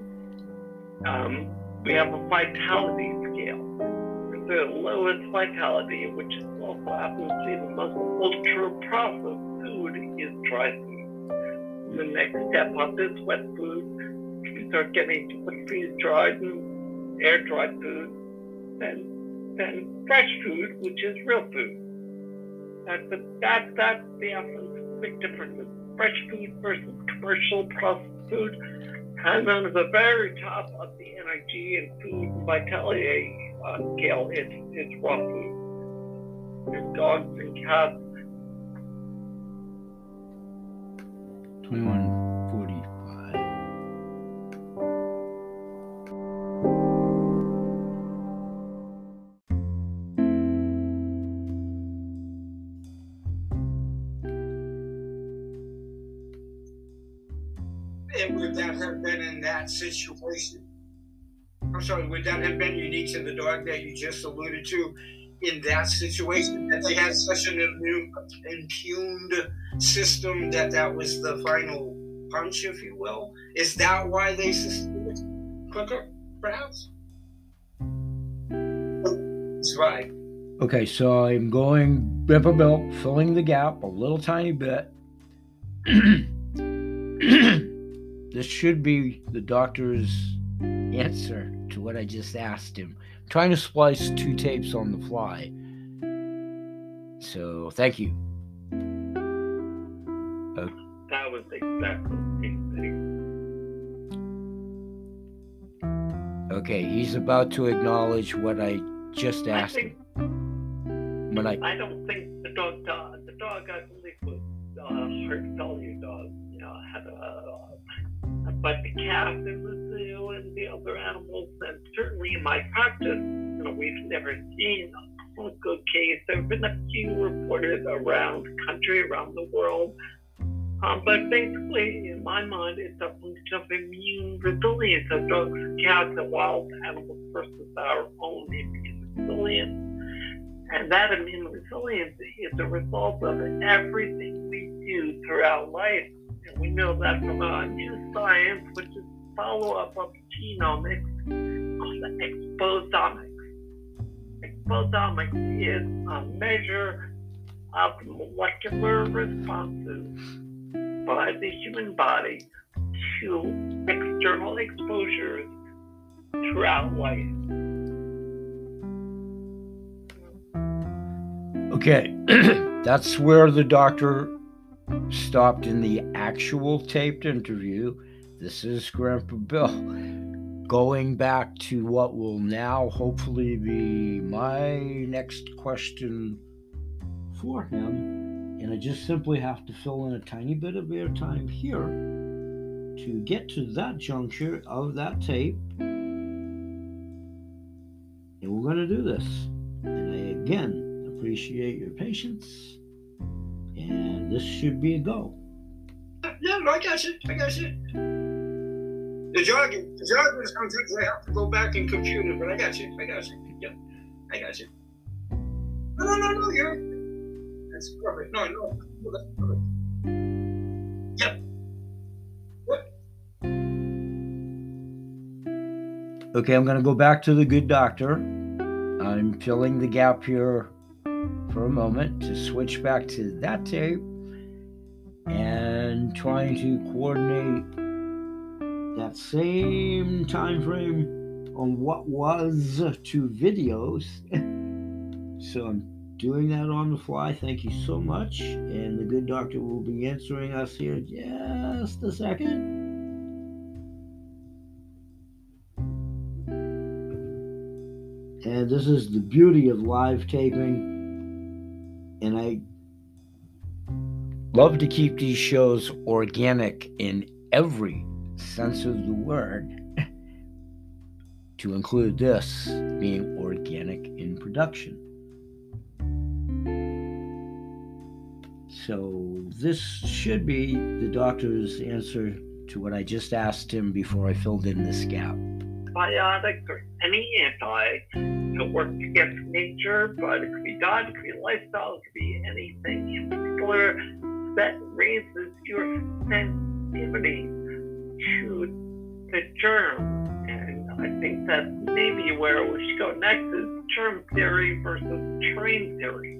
We have a vitality scale. The lowest vitality, which also happens to be the most ultra-processed food, is dry food. The next step up is wet food. We start getting to freeze-dried and air-dried food, then fresh food, which is real food. That's the big difference. Fresh food versus commercial processed food. And then at the very top of the energy and food vitality scale is raw food. There's dogs and cats. 21:45. And would that have been in that situation? I'm sorry, would that have been unique to the dog that you just alluded to in that situation, that they had such an impugned system that was the final punch, if you will? Is that why they succeeded quicker, perhaps? That's right. Okay, so I'm going Grandpa Bill, filling the gap a little tiny bit. This should be the doctor's answer to what I just asked him. I'm trying to splice two tapes on the fly. So, thank you. That was exactly the same thing. Okay, he's about to acknowledge what I just asked him. I don't think the dog, I believe, was heart failure dog. Had but the cat in the zoo and the other animals, and certainly in my practice, we've never seen a good case. There have been a few reported around the country, around the world. But basically, in my mind, it's a function of immune resilience of dogs, cats, and wild animals versus our own immune resilience. And that immune resilience is a result of everything we do throughout life. And we know that from our new science, which is follow-up of genomics, called exposomics. Exposomics is a measure of molecular responses by the human body to external exposures throughout life. Okay, that's where the doctor stopped in the actual taped interview. This is Grandpa Bill going back to what will now hopefully be my next question for him. And I just simply have to fill in a tiny bit of airtime here to get to that juncture of that tape. And we're going to do this. And I again appreciate your patience. And this should be a go. Yeah, no, I got you. The jargon is sometimes I have to go back and compute it, but I got you. Yeah, I got you. No, you're. That's perfect. No, that's perfect. Yep. What? Okay, I'm going to go back to the good doctor. I'm filling the gap here for a moment to switch back to that tape and trying to coordinate that same time frame on what was two videos. So I'm doing that on the fly. Thank you so much. And the good doctor will be answering us here in just a second. And this is the beauty of live taping. And I love to keep these shows organic in every sense of the word to include this being organic in production. So this should be the doctor's answer to what I just asked him before I filled in this gap. Biotic or any anti to work against nature, but it could be diet, it could be lifestyle, it could be anything in particular that raises your sensitivity to the germ. And I think that maybe where we should go next is germ theory versus terrain theory.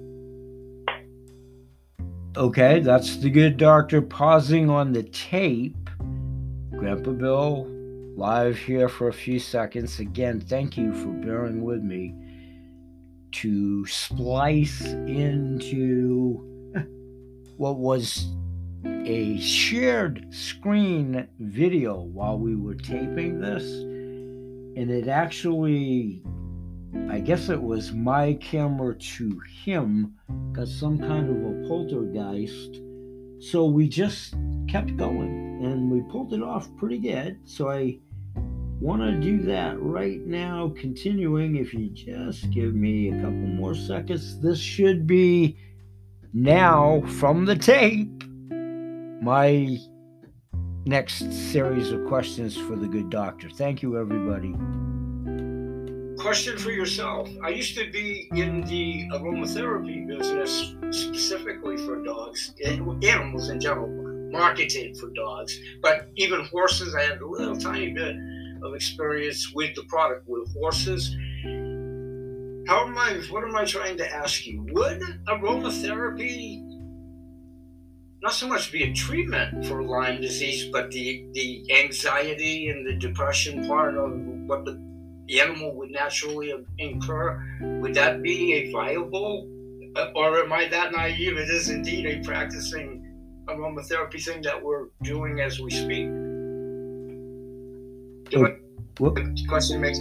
Okay, that's the good doctor pausing on the tape. Grandpa Bill, live here for a few seconds. Again, thank you for bearing with me to splice into what was a shared screen video while we were taping this. And it actually, I guess it was my camera to him, got some kind of a poltergeist. So we just kept going and we pulled it off pretty good. So I want to do that right now, continuing. If you just give me a couple more seconds, this should be now from the tape my next series of questions for the good doctor. Thank you, everybody. Question for yourself. I used to be in the aromatherapy business specifically for dogs, animals in general, marketed for dogs, but even horses. I had a little tiny bit of experience with the product with horses. What am I trying to ask you? Would aromatherapy not so much be a treatment for Lyme disease, but the anxiety and the depression part of what the animal would naturally incur, would that be a viable, or am I that naive? It is indeed a practicing aromatherapy thing that we're doing as we speak. The question makes.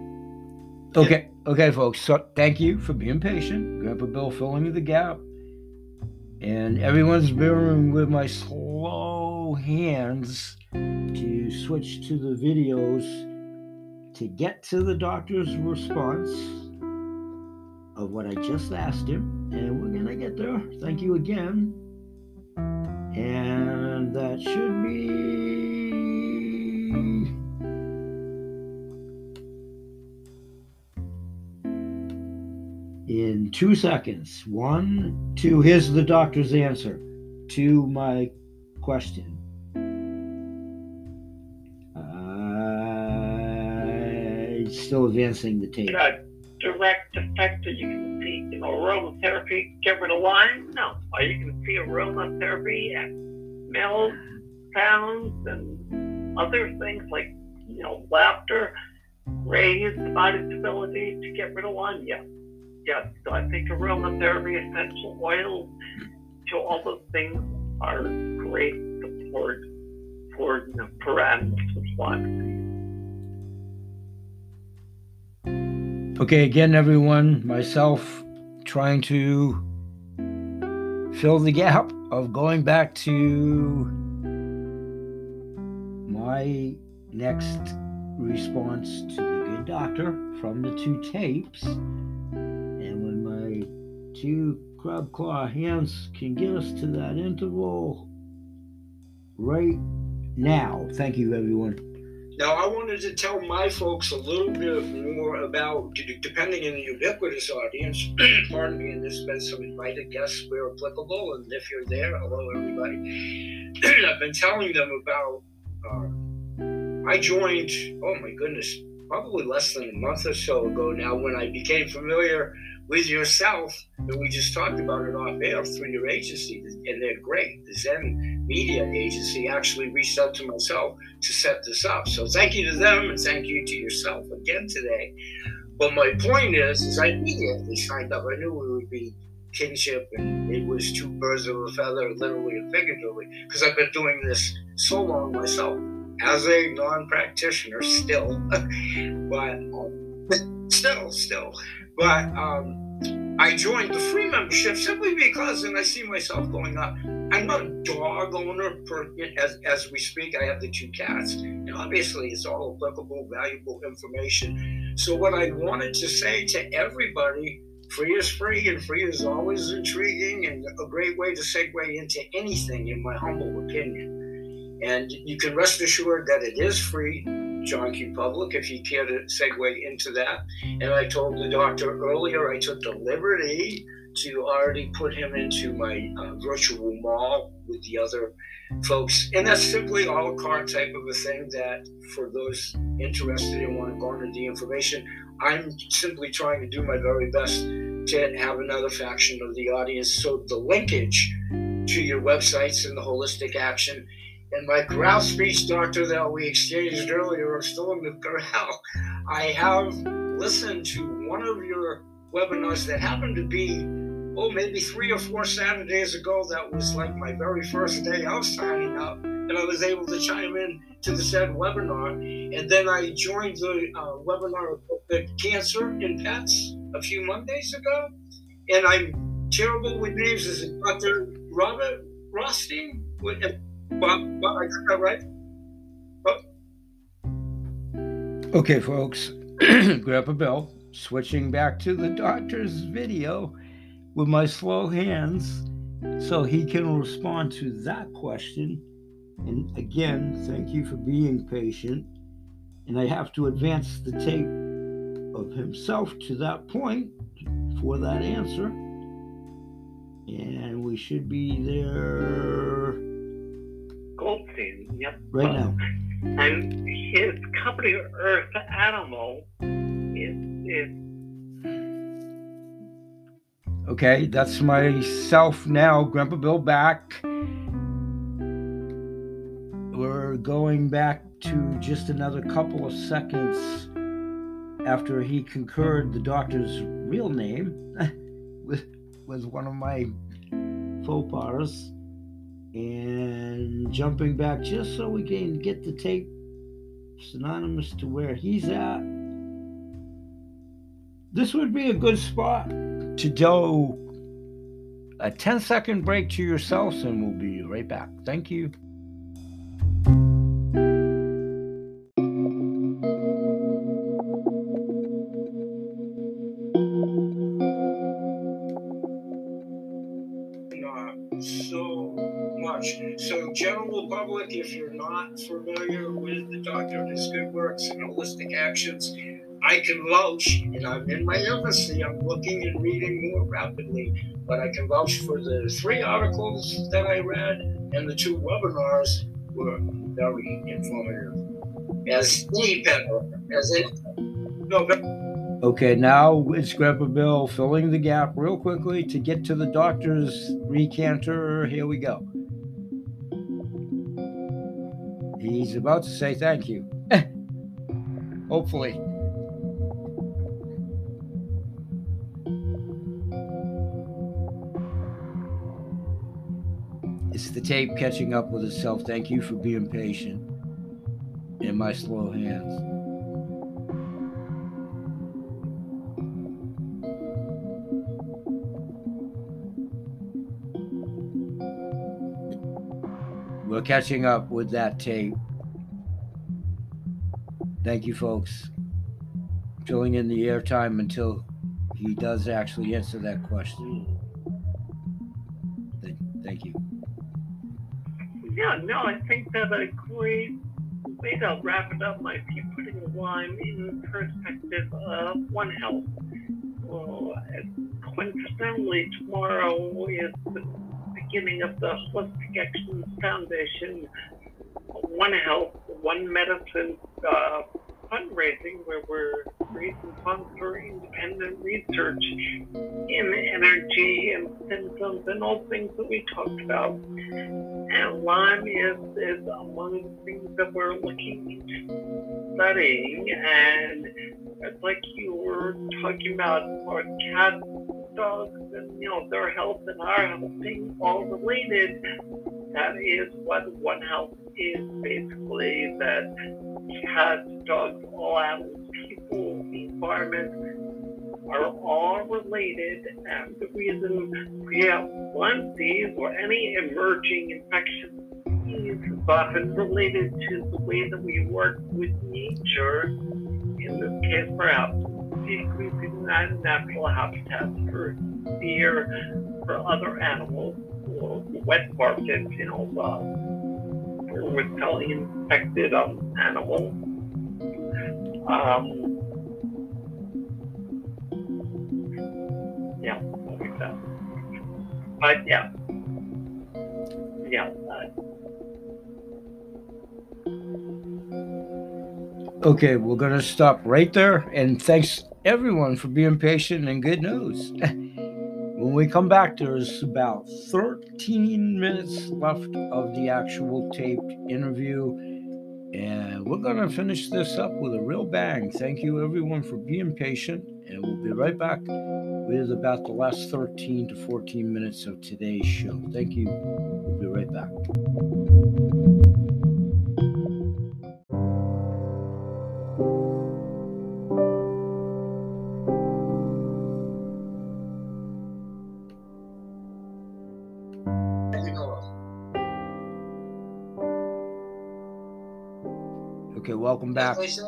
Okay, folks. So thank you for being patient. Grandpa Bill filling the gap, and everyone's bearing with my slow hands to switch to the videos to get to the doctor's response of what I just asked him, and we're gonna get there. Thank you again. And that should be in 2 seconds. 1, 2. Here's the doctor's answer to my question. Still advancing the tape. Direct effect that you can see, aromatherapy get rid of Lyme? No. Or you can see aromatherapy at smells, sounds, and other things like, laughter, raise the body's ability to get rid of Lyme. Yes. So I think aromatherapy, essential oils, to all those things are great support for animals with Lyme disease. Okay, again, everyone, myself trying to fill the gap of going back to my next response to the good doctor from the 2 tapes. And when my 2 crab claw hands can get us to that interval right now. Thank you, everyone. Now, I wanted to tell my folks a little bit more about, depending on the ubiquitous audience, pardon me, and there's been some invited guests where applicable, and if you're there, hello, everybody. I've been telling them about, I joined, oh my goodness, probably less than a month or so ago now, when I became familiar with yourself, and we just talked about it off air through your agency, and they're great. The Zen Media Agency actually reached out to myself to set this up. So thank you to them, and thank you to yourself again today. But my point is I immediately signed up. I knew it would be kinship, and it was 2 birds of a feather, literally and figuratively, because I've been doing this so long myself as a non-practitioner still, but still. But I joined the free membership simply because, and I see myself going up, I'm not a dog owner as we speak. I have the 2 cats, and obviously it's all applicable, valuable information. So what I wanted to say to everybody, free is free, and free is always intriguing and a great way to segue into anything, in my humble opinion. And you can rest assured that it is free, John Q. Public, if you care to segue into that. And I told the doctor earlier, I took the liberty to already put him into my virtual mall with the other folks. And that's simply a la carte type of a thing that for those interested and want to garner the information, I'm simply trying to do my very best to have another faction of the audience. So the linkage to your websites and the holistic action and my corral speech, doctor, that we exchanged earlier, I'm still in the corral. I have listened to one of your webinars that happened to be, maybe 3 or 4 Saturdays ago. That was like my very first day out signing up, and I was able to chime in to the said webinar. And then I joined the webinar about cancer in pets a few Mondays ago. And I'm terrible with names. Is it Dr. Robert Rothstein? Bob, I got that right? Okay, folks, Grandpa Bill, switching back to the doctor's video with my slow hands so he can respond to that question. And again, thank you for being patient. And I have to advance the tape of himself to that point for that answer. And we should be there. Goldstein, yep. Right now. And his company, Earth Animal, is okay, that's myself now, Grandpa Bill back. We're going back to just another couple of seconds after he concurred the doctor's real name with one of my faux pas, and jumping back just so we can get the tape synonymous to where he's at. This would be a good spot to do a 10-second break to yourselves, and we'll be right back. Thank you. So, general public, if you're not familiar with the doctor and his good works and holistic actions, I can vouch, and I'm in my infancy, I'm looking and reading more rapidly, but I can vouch for the 3 articles that I read, and the 2 webinars were very informative. As any pet owner, Okay, now it's Grandpa Bill filling the gap real quickly to get to the doctor's recanter. Here we go. He's about to say thank you. Hopefully. It's the tape catching up with itself. Thank you for being patient in my slow hands. We're catching up with that tape. Thank you, folks. Filling in the airtime until he does actually answer that question. Thank you. Yeah, no, I think that a great way to wrap it up might be putting Lyme in perspective of One Health. Well, coincidentally, tomorrow is the beginning of the Holistic Action Foundation One Health, One Medicine fundraising, where we're raising funds for independent research in energy and symptoms and all things that we talked about. And Lyme is among the things that we're looking into studying. And it's like you were talking about our cats, dogs, and their health and our health being all related. That is what One Health is, basically, that cats, dogs, all animals, people, the environment, are all related, and the reason we have one disease or any emerging infectious disease is often related to the way that we work with nature. In this case, perhaps decreasing natural habitats for deer, for other animals, or wet markets, with telling infected animals. Yeah, like that. But yeah. Okay, we're going to stop right there. And thanks everyone for being patient and good news. When we come back, there's about 13 minutes left of the actual taped interview. And we're going to finish this up with a real bang. Thank you everyone for being patient. And we'll be right back with about the last 13 to 14 minutes of today's show. Thank you. We'll be right back. Okay, welcome back. As they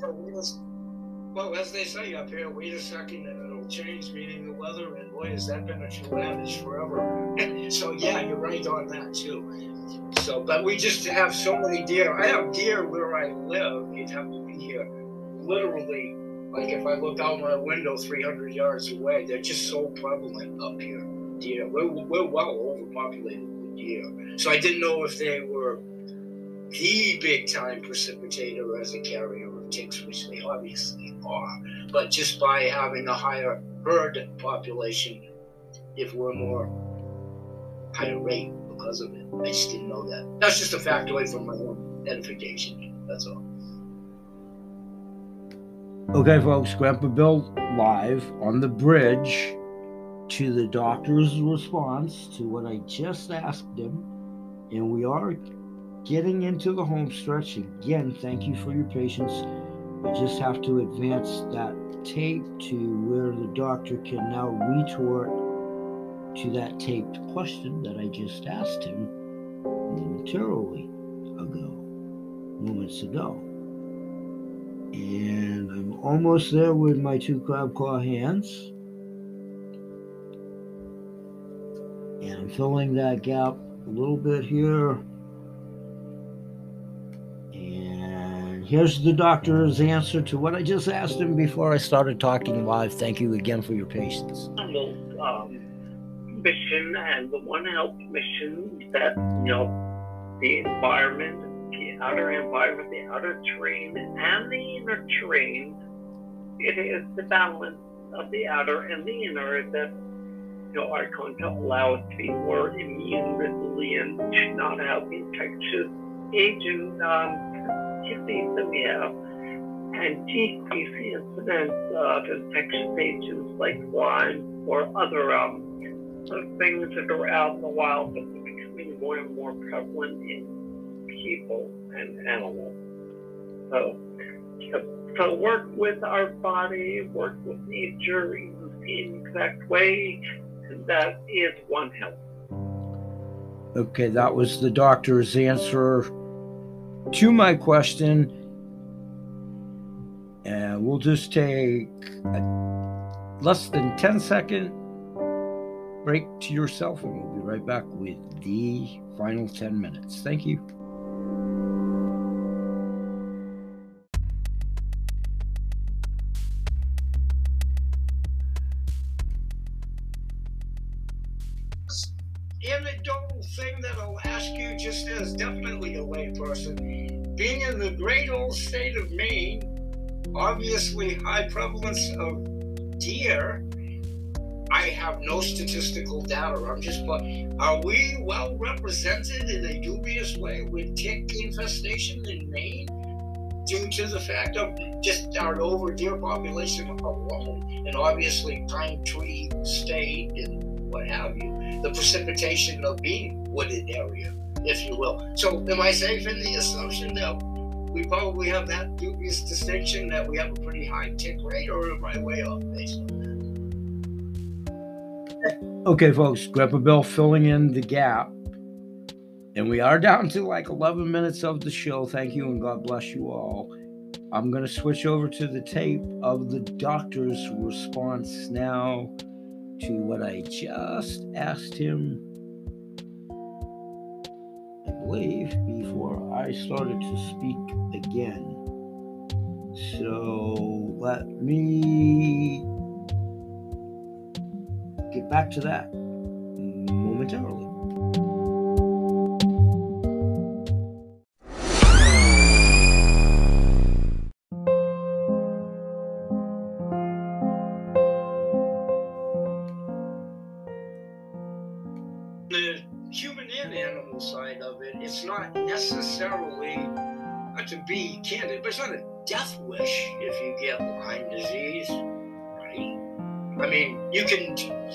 say up here, wait a second and it'll change, meaning the weather, and boy, has that been a true adage forever. So yeah, you're right on that too. So, but we just have so many deer. I have deer where I live. You'd have to be here literally, like if I look out my window 300 yards away, they're just so prevalent up here. Deer, we're well overpopulated with deer. So I didn't know if they were the big time precipitator as a carrier of ticks, which they obviously are, but just by having a higher herd population, if we're more higher rate because of it. I just didn't know that. That's just a factoid from my own edification. That's all. Okay, folks, Grandpa Bill live on the bridge to the doctor's response to what I just asked him, and we are getting into the home stretch. Again, thank you for your patience. I just have to advance that tape to where the doctor can now retort to that taped question that I just asked him moments ago. And I'm almost there with my two crab claw hands. And I'm filling that gap a little bit here. Here's the doctor's answer to what I just asked him before I started talking live. Thank you again for your patience. Mission and the One Health mission that, the environment, the outer environment, the outer terrain, and the inner terrain, it is the balance of the outer and the inner that, are going to allow us to be more immune resilient, to not have infectious agent disease that we have, and decrease the incidence of infectious agents like Lyme or other things that are out in the wild that are becoming more and more prevalent in people and animals. So work with our body, work with nature in the same exact way, and that is One Health. Okay, that was the doctor's answer to my question, and we'll just take a less than 10-second break to yourself, and we'll be right back with the final 10 minutes. Thank you. Anecdotal thing that I'll ask you, just as definitely a layperson, being in the great old state of Maine, obviously high prevalence of deer. I have no statistical data. Are we well represented in a dubious way with tick infestation in Maine due to the fact of just our over deer population alone, and obviously pine tree state and what have you, the precipitation of being wooded area, if you will. So am I safe in the assumption that we probably have that dubious distinction that we have a pretty high tick rate, or am I way off based on that? Okay, folks, Grandpa Bill filling in the gap. And we are down to like 11 minutes of the show. Thank you and God bless you all. I'm going to switch over to the tape of the doctor's response now to what I just asked him, I believe, before I started to speak again. So let me get back to that momentarily. The human and animal side of it, it's not necessarily, to be candid, but it's not a death wish if you get Lyme disease, right? I mean, you can,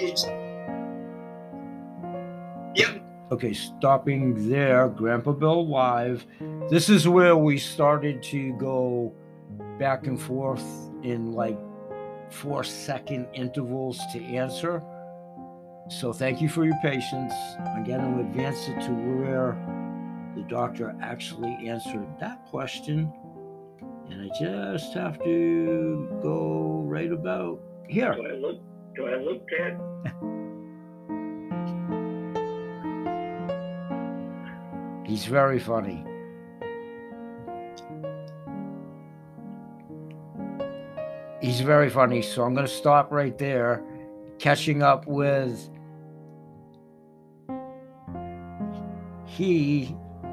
Okay, stopping there, Grandpa Bill Live. This is where we started to go back and forth in like 4-second intervals to answer. So thank you for your patience. I'm going to advance it to where the doctor actually answered that question. And I just have to go right about here. Do I look dead? He's very funny. He's very funny. So I'm going to stop right there, catching up with he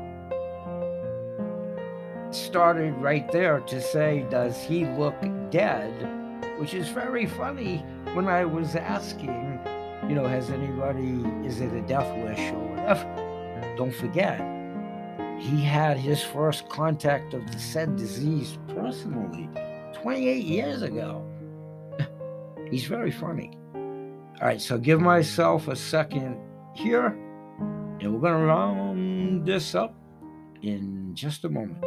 started right there to say, does he look dead? Which is very funny when I was asking, has anybody, is it a death wish or whatever? Don't forget, he had his first contact of the said disease personally 28 years ago. He's very funny. All right, so give myself a second here, and we're going to round this up in just a moment.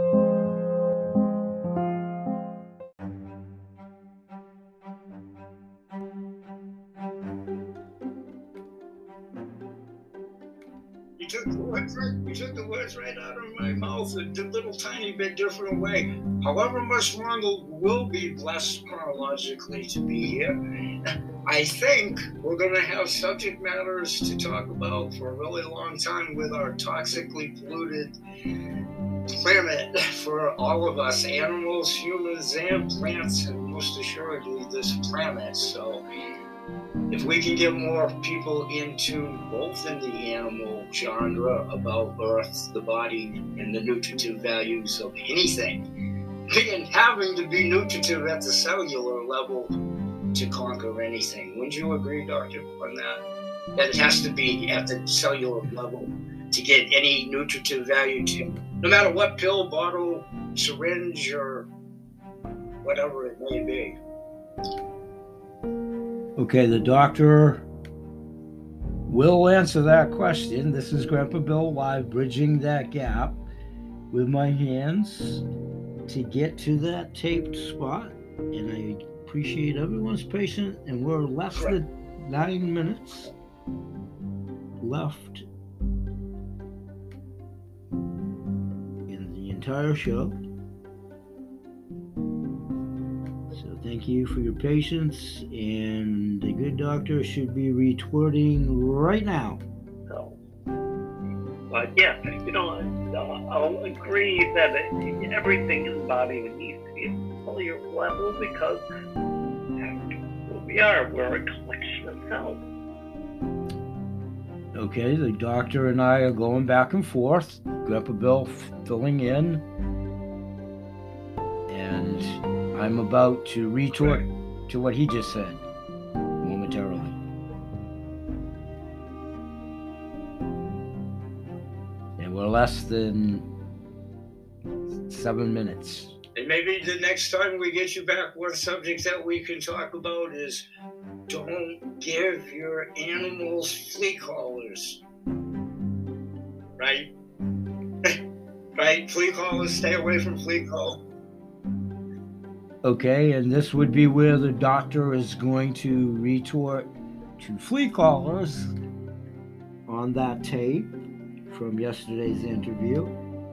You took the words right out of my mouth a little tiny bit different way. However much longer we'll be blessed chronologically to be here, I think we're going to have subject matters to talk about for a really long time with our toxically polluted planet for all of us, animals, humans, and plants, and most assuredly this planet. So if we can get more people into both in the animal genre about Earth, the body, and the nutritive values of anything, and having to be nutritive at the cellular level to conquer anything. Wouldn't you agree, Doctor, on that? That it has to be at the cellular level to get any nutritive value to, no matter what pill, bottle, syringe, or whatever it may be. Okay, the doctor will answer that question. This is Grandpa Bill Live, bridging that gap with my hands to get to that taped spot. And I appreciate everyone's patience. And we're less than 9 minutes left in the entire show. Thank you for your patience, and the good doctor should be retorting right now. So, but yeah, I'll agree that everything in the body needs to be at a cellular level because we're a collection of cells. Okay, the doctor and I are going back and forth. Grandpa Bill filling in, and I'm about to retort to what he just said momentarily. And we're less than 7 minutes. And maybe the next time we get you back, one subject that we can talk about is don't give your animals flea collars. Right? Right? Flea collars, stay away from flea collars. Okay, and this would be where the doctor is going to retort to flea collars on that tape from yesterday's interview.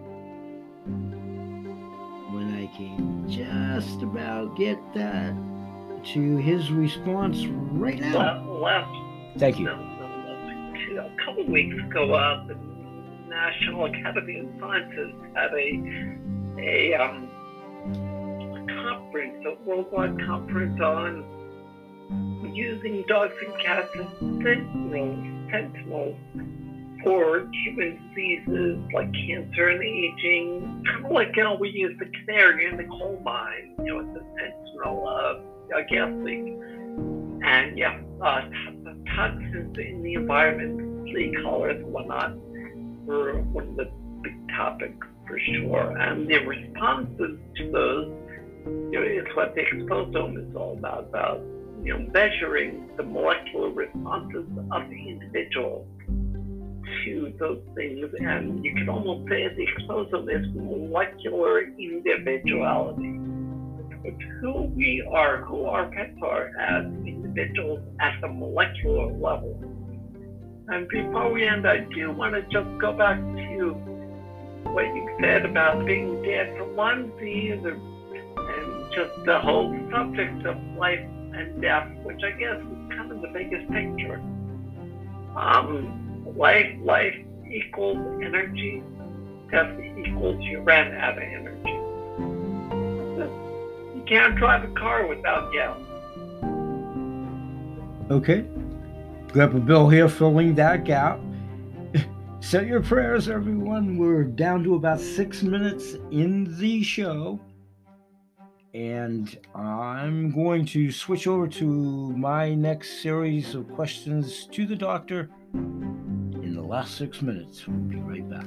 When I can just about get that to his response right now. Thank you. A couple of weeks ago, the National Academy of Sciences had a conference, a worldwide conference on using dogs and cats as sentinels for human diseases like cancer and aging, kind of like how we use the canary in the coal mine, as a sentinel of a gas leak. And toxins in the environment, flea collars and whatnot, were one of the big topics for sure. And the responses to those, is what the exposome is all about, measuring the molecular responses of the individual to those things. And you can almost say the exposome is molecular individuality. It's who we are, who our pets are as individuals at the molecular level. And before we end, I do want to just go back to what you said about being dead for onesies, and just the whole subject of life and death, which I guess is kind of the biggest picture. Life equals energy, death equals you ran out of energy. You can't drive a car without gas. Okay. Grandpa Bill here filling that gap. Say your prayers, everyone. We're down to about 6 minutes in the show. And I'm going to switch over to my next series of questions to the doctor in the last 6 minutes. We'll be right back.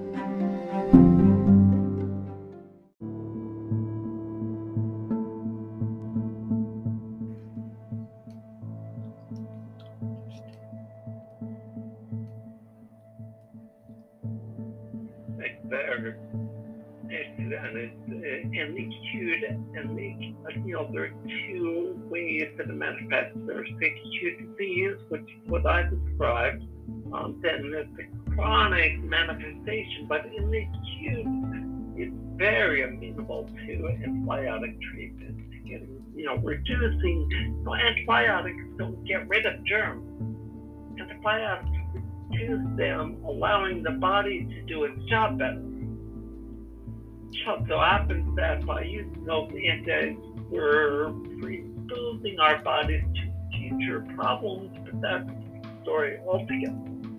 And the acute and there are two ways that it manifests. There's the acute disease, which is what I described. Then there's the chronic manifestation, but in the acute, it's very amenable to antibiotic treatment. Reducing. Antibiotics don't get rid of germs. Antibiotics reduce them, allowing the body to do its job better. So happens that by using those antidotes, we're predisposing our bodies to future problems, but that's the story altogether.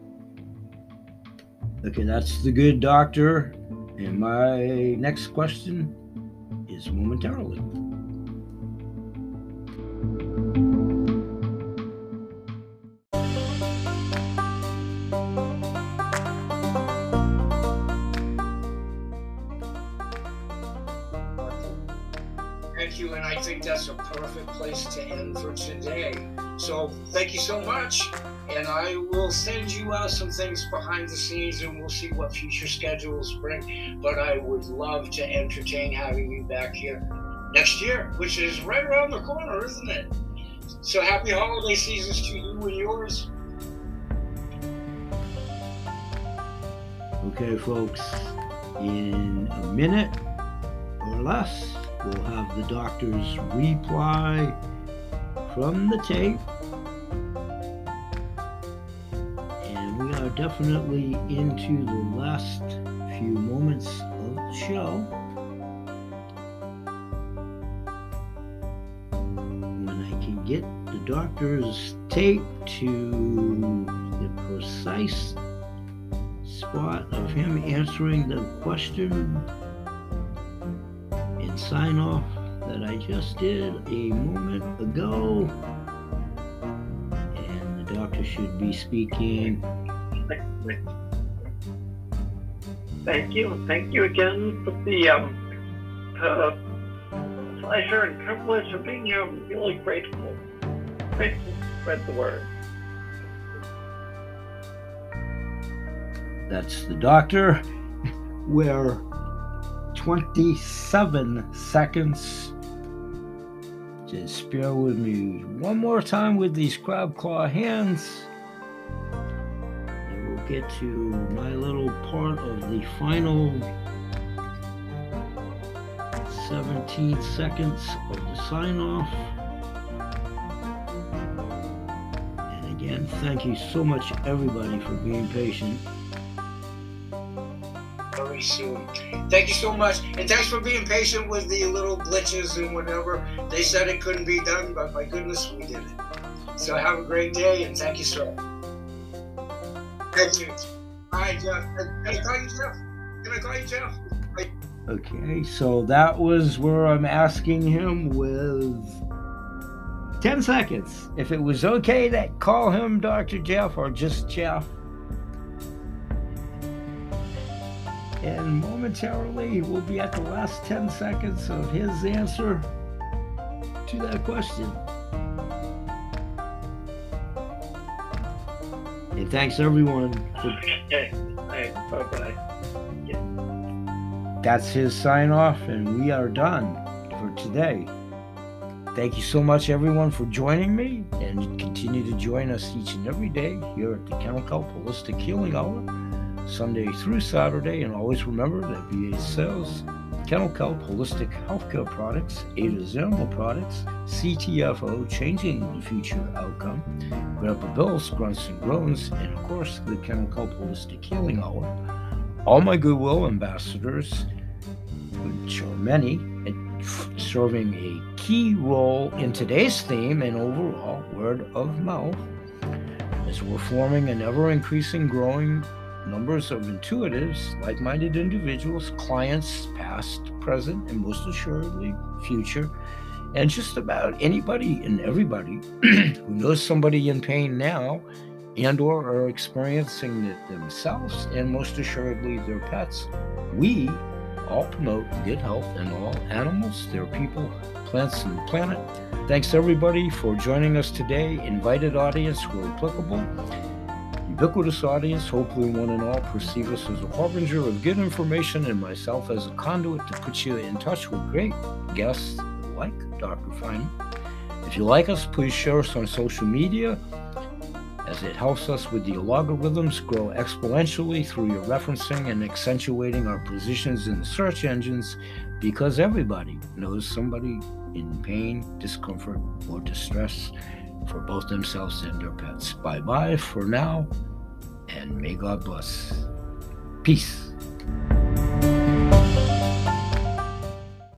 Okay, that's the good doctor. And my next question is momentarily. Thank you, and I think that's a perfect place to end for today. So thank you so much, and I will send you out some things behind the scenes, and we'll see what future schedules bring. But I would love to entertain having you back here next year, which is right around the corner, isn't it? So happy holiday seasons to you and yours. Okay, folks, in a minute or less, we'll have the doctor's reply from the tape. And we are definitely into the last few moments of the show. When I can get the doctor's tape to the precise spot of him answering the question and sign off that I just did a moment ago, and the doctor should be speaking. Thank you again for the pleasure and privilege of being here. I'm really grateful to spread the word. That's the doctor. We're 27 seconds Just bear with me one more time with these crab claw hands. And we'll get to my little part of the final 17 seconds of the sign off. And again, thank you so much, everybody, for being patient. Very soon. Thank you so much, and thanks for being patient with the little glitches and whatever. They said it couldn't be done, but my goodness, we did it. So have a great day, and thank you, sir. Thank you. All right, Jeff. Can I call you Jeff? Can I call you Jeff? Okay, so that was where I'm asking him with 10 seconds if it was okay to call him Dr. Jeff or just Jeff. And momentarily, we'll be at the last 10 seconds of his answer to that question. And thanks, everyone. Okay. Bye-bye. That's his sign off, and we are done for today. Thank you so much, everyone, for joining me, and continue to join us each and every day here at the Kennel Kelp Holistic Healing Hour, Sunday through Saturday. And always remember that VA sells Kennel Kelp Holistic Healthcare Products, Ada's Animal Products, CTFO, Changing the Future Outcome, Grandpa Bill's Grunts and Groans, and of course the Kennel Kelp Holistic Healing Hour. All my Goodwill ambassadors, which are many, serving a key role in today's theme and overall word of mouth, as we're forming an ever-increasing growing numbers of intuitives, like-minded individuals, clients, past, present, and most assuredly future, and just about anybody and everybody who knows somebody in pain now and or are experiencing it themselves, and most assuredly their pets. We all promote good health in all animals, their people, plants, and the planet. Thanks everybody for joining us today. Invited audience where applicable. Ubiquitous audience, hopefully one and all perceive us as a harbinger of good information, and myself as a conduit to put you in touch with great guests like Dr. Feynman. If you like us, please share us on social media, as it helps us with the logarithms grow exponentially through your referencing and accentuating our positions in the search engines, because everybody knows somebody in pain, discomfort, or distress for both themselves and their pets. Bye-bye for now, and may God bless. Peace.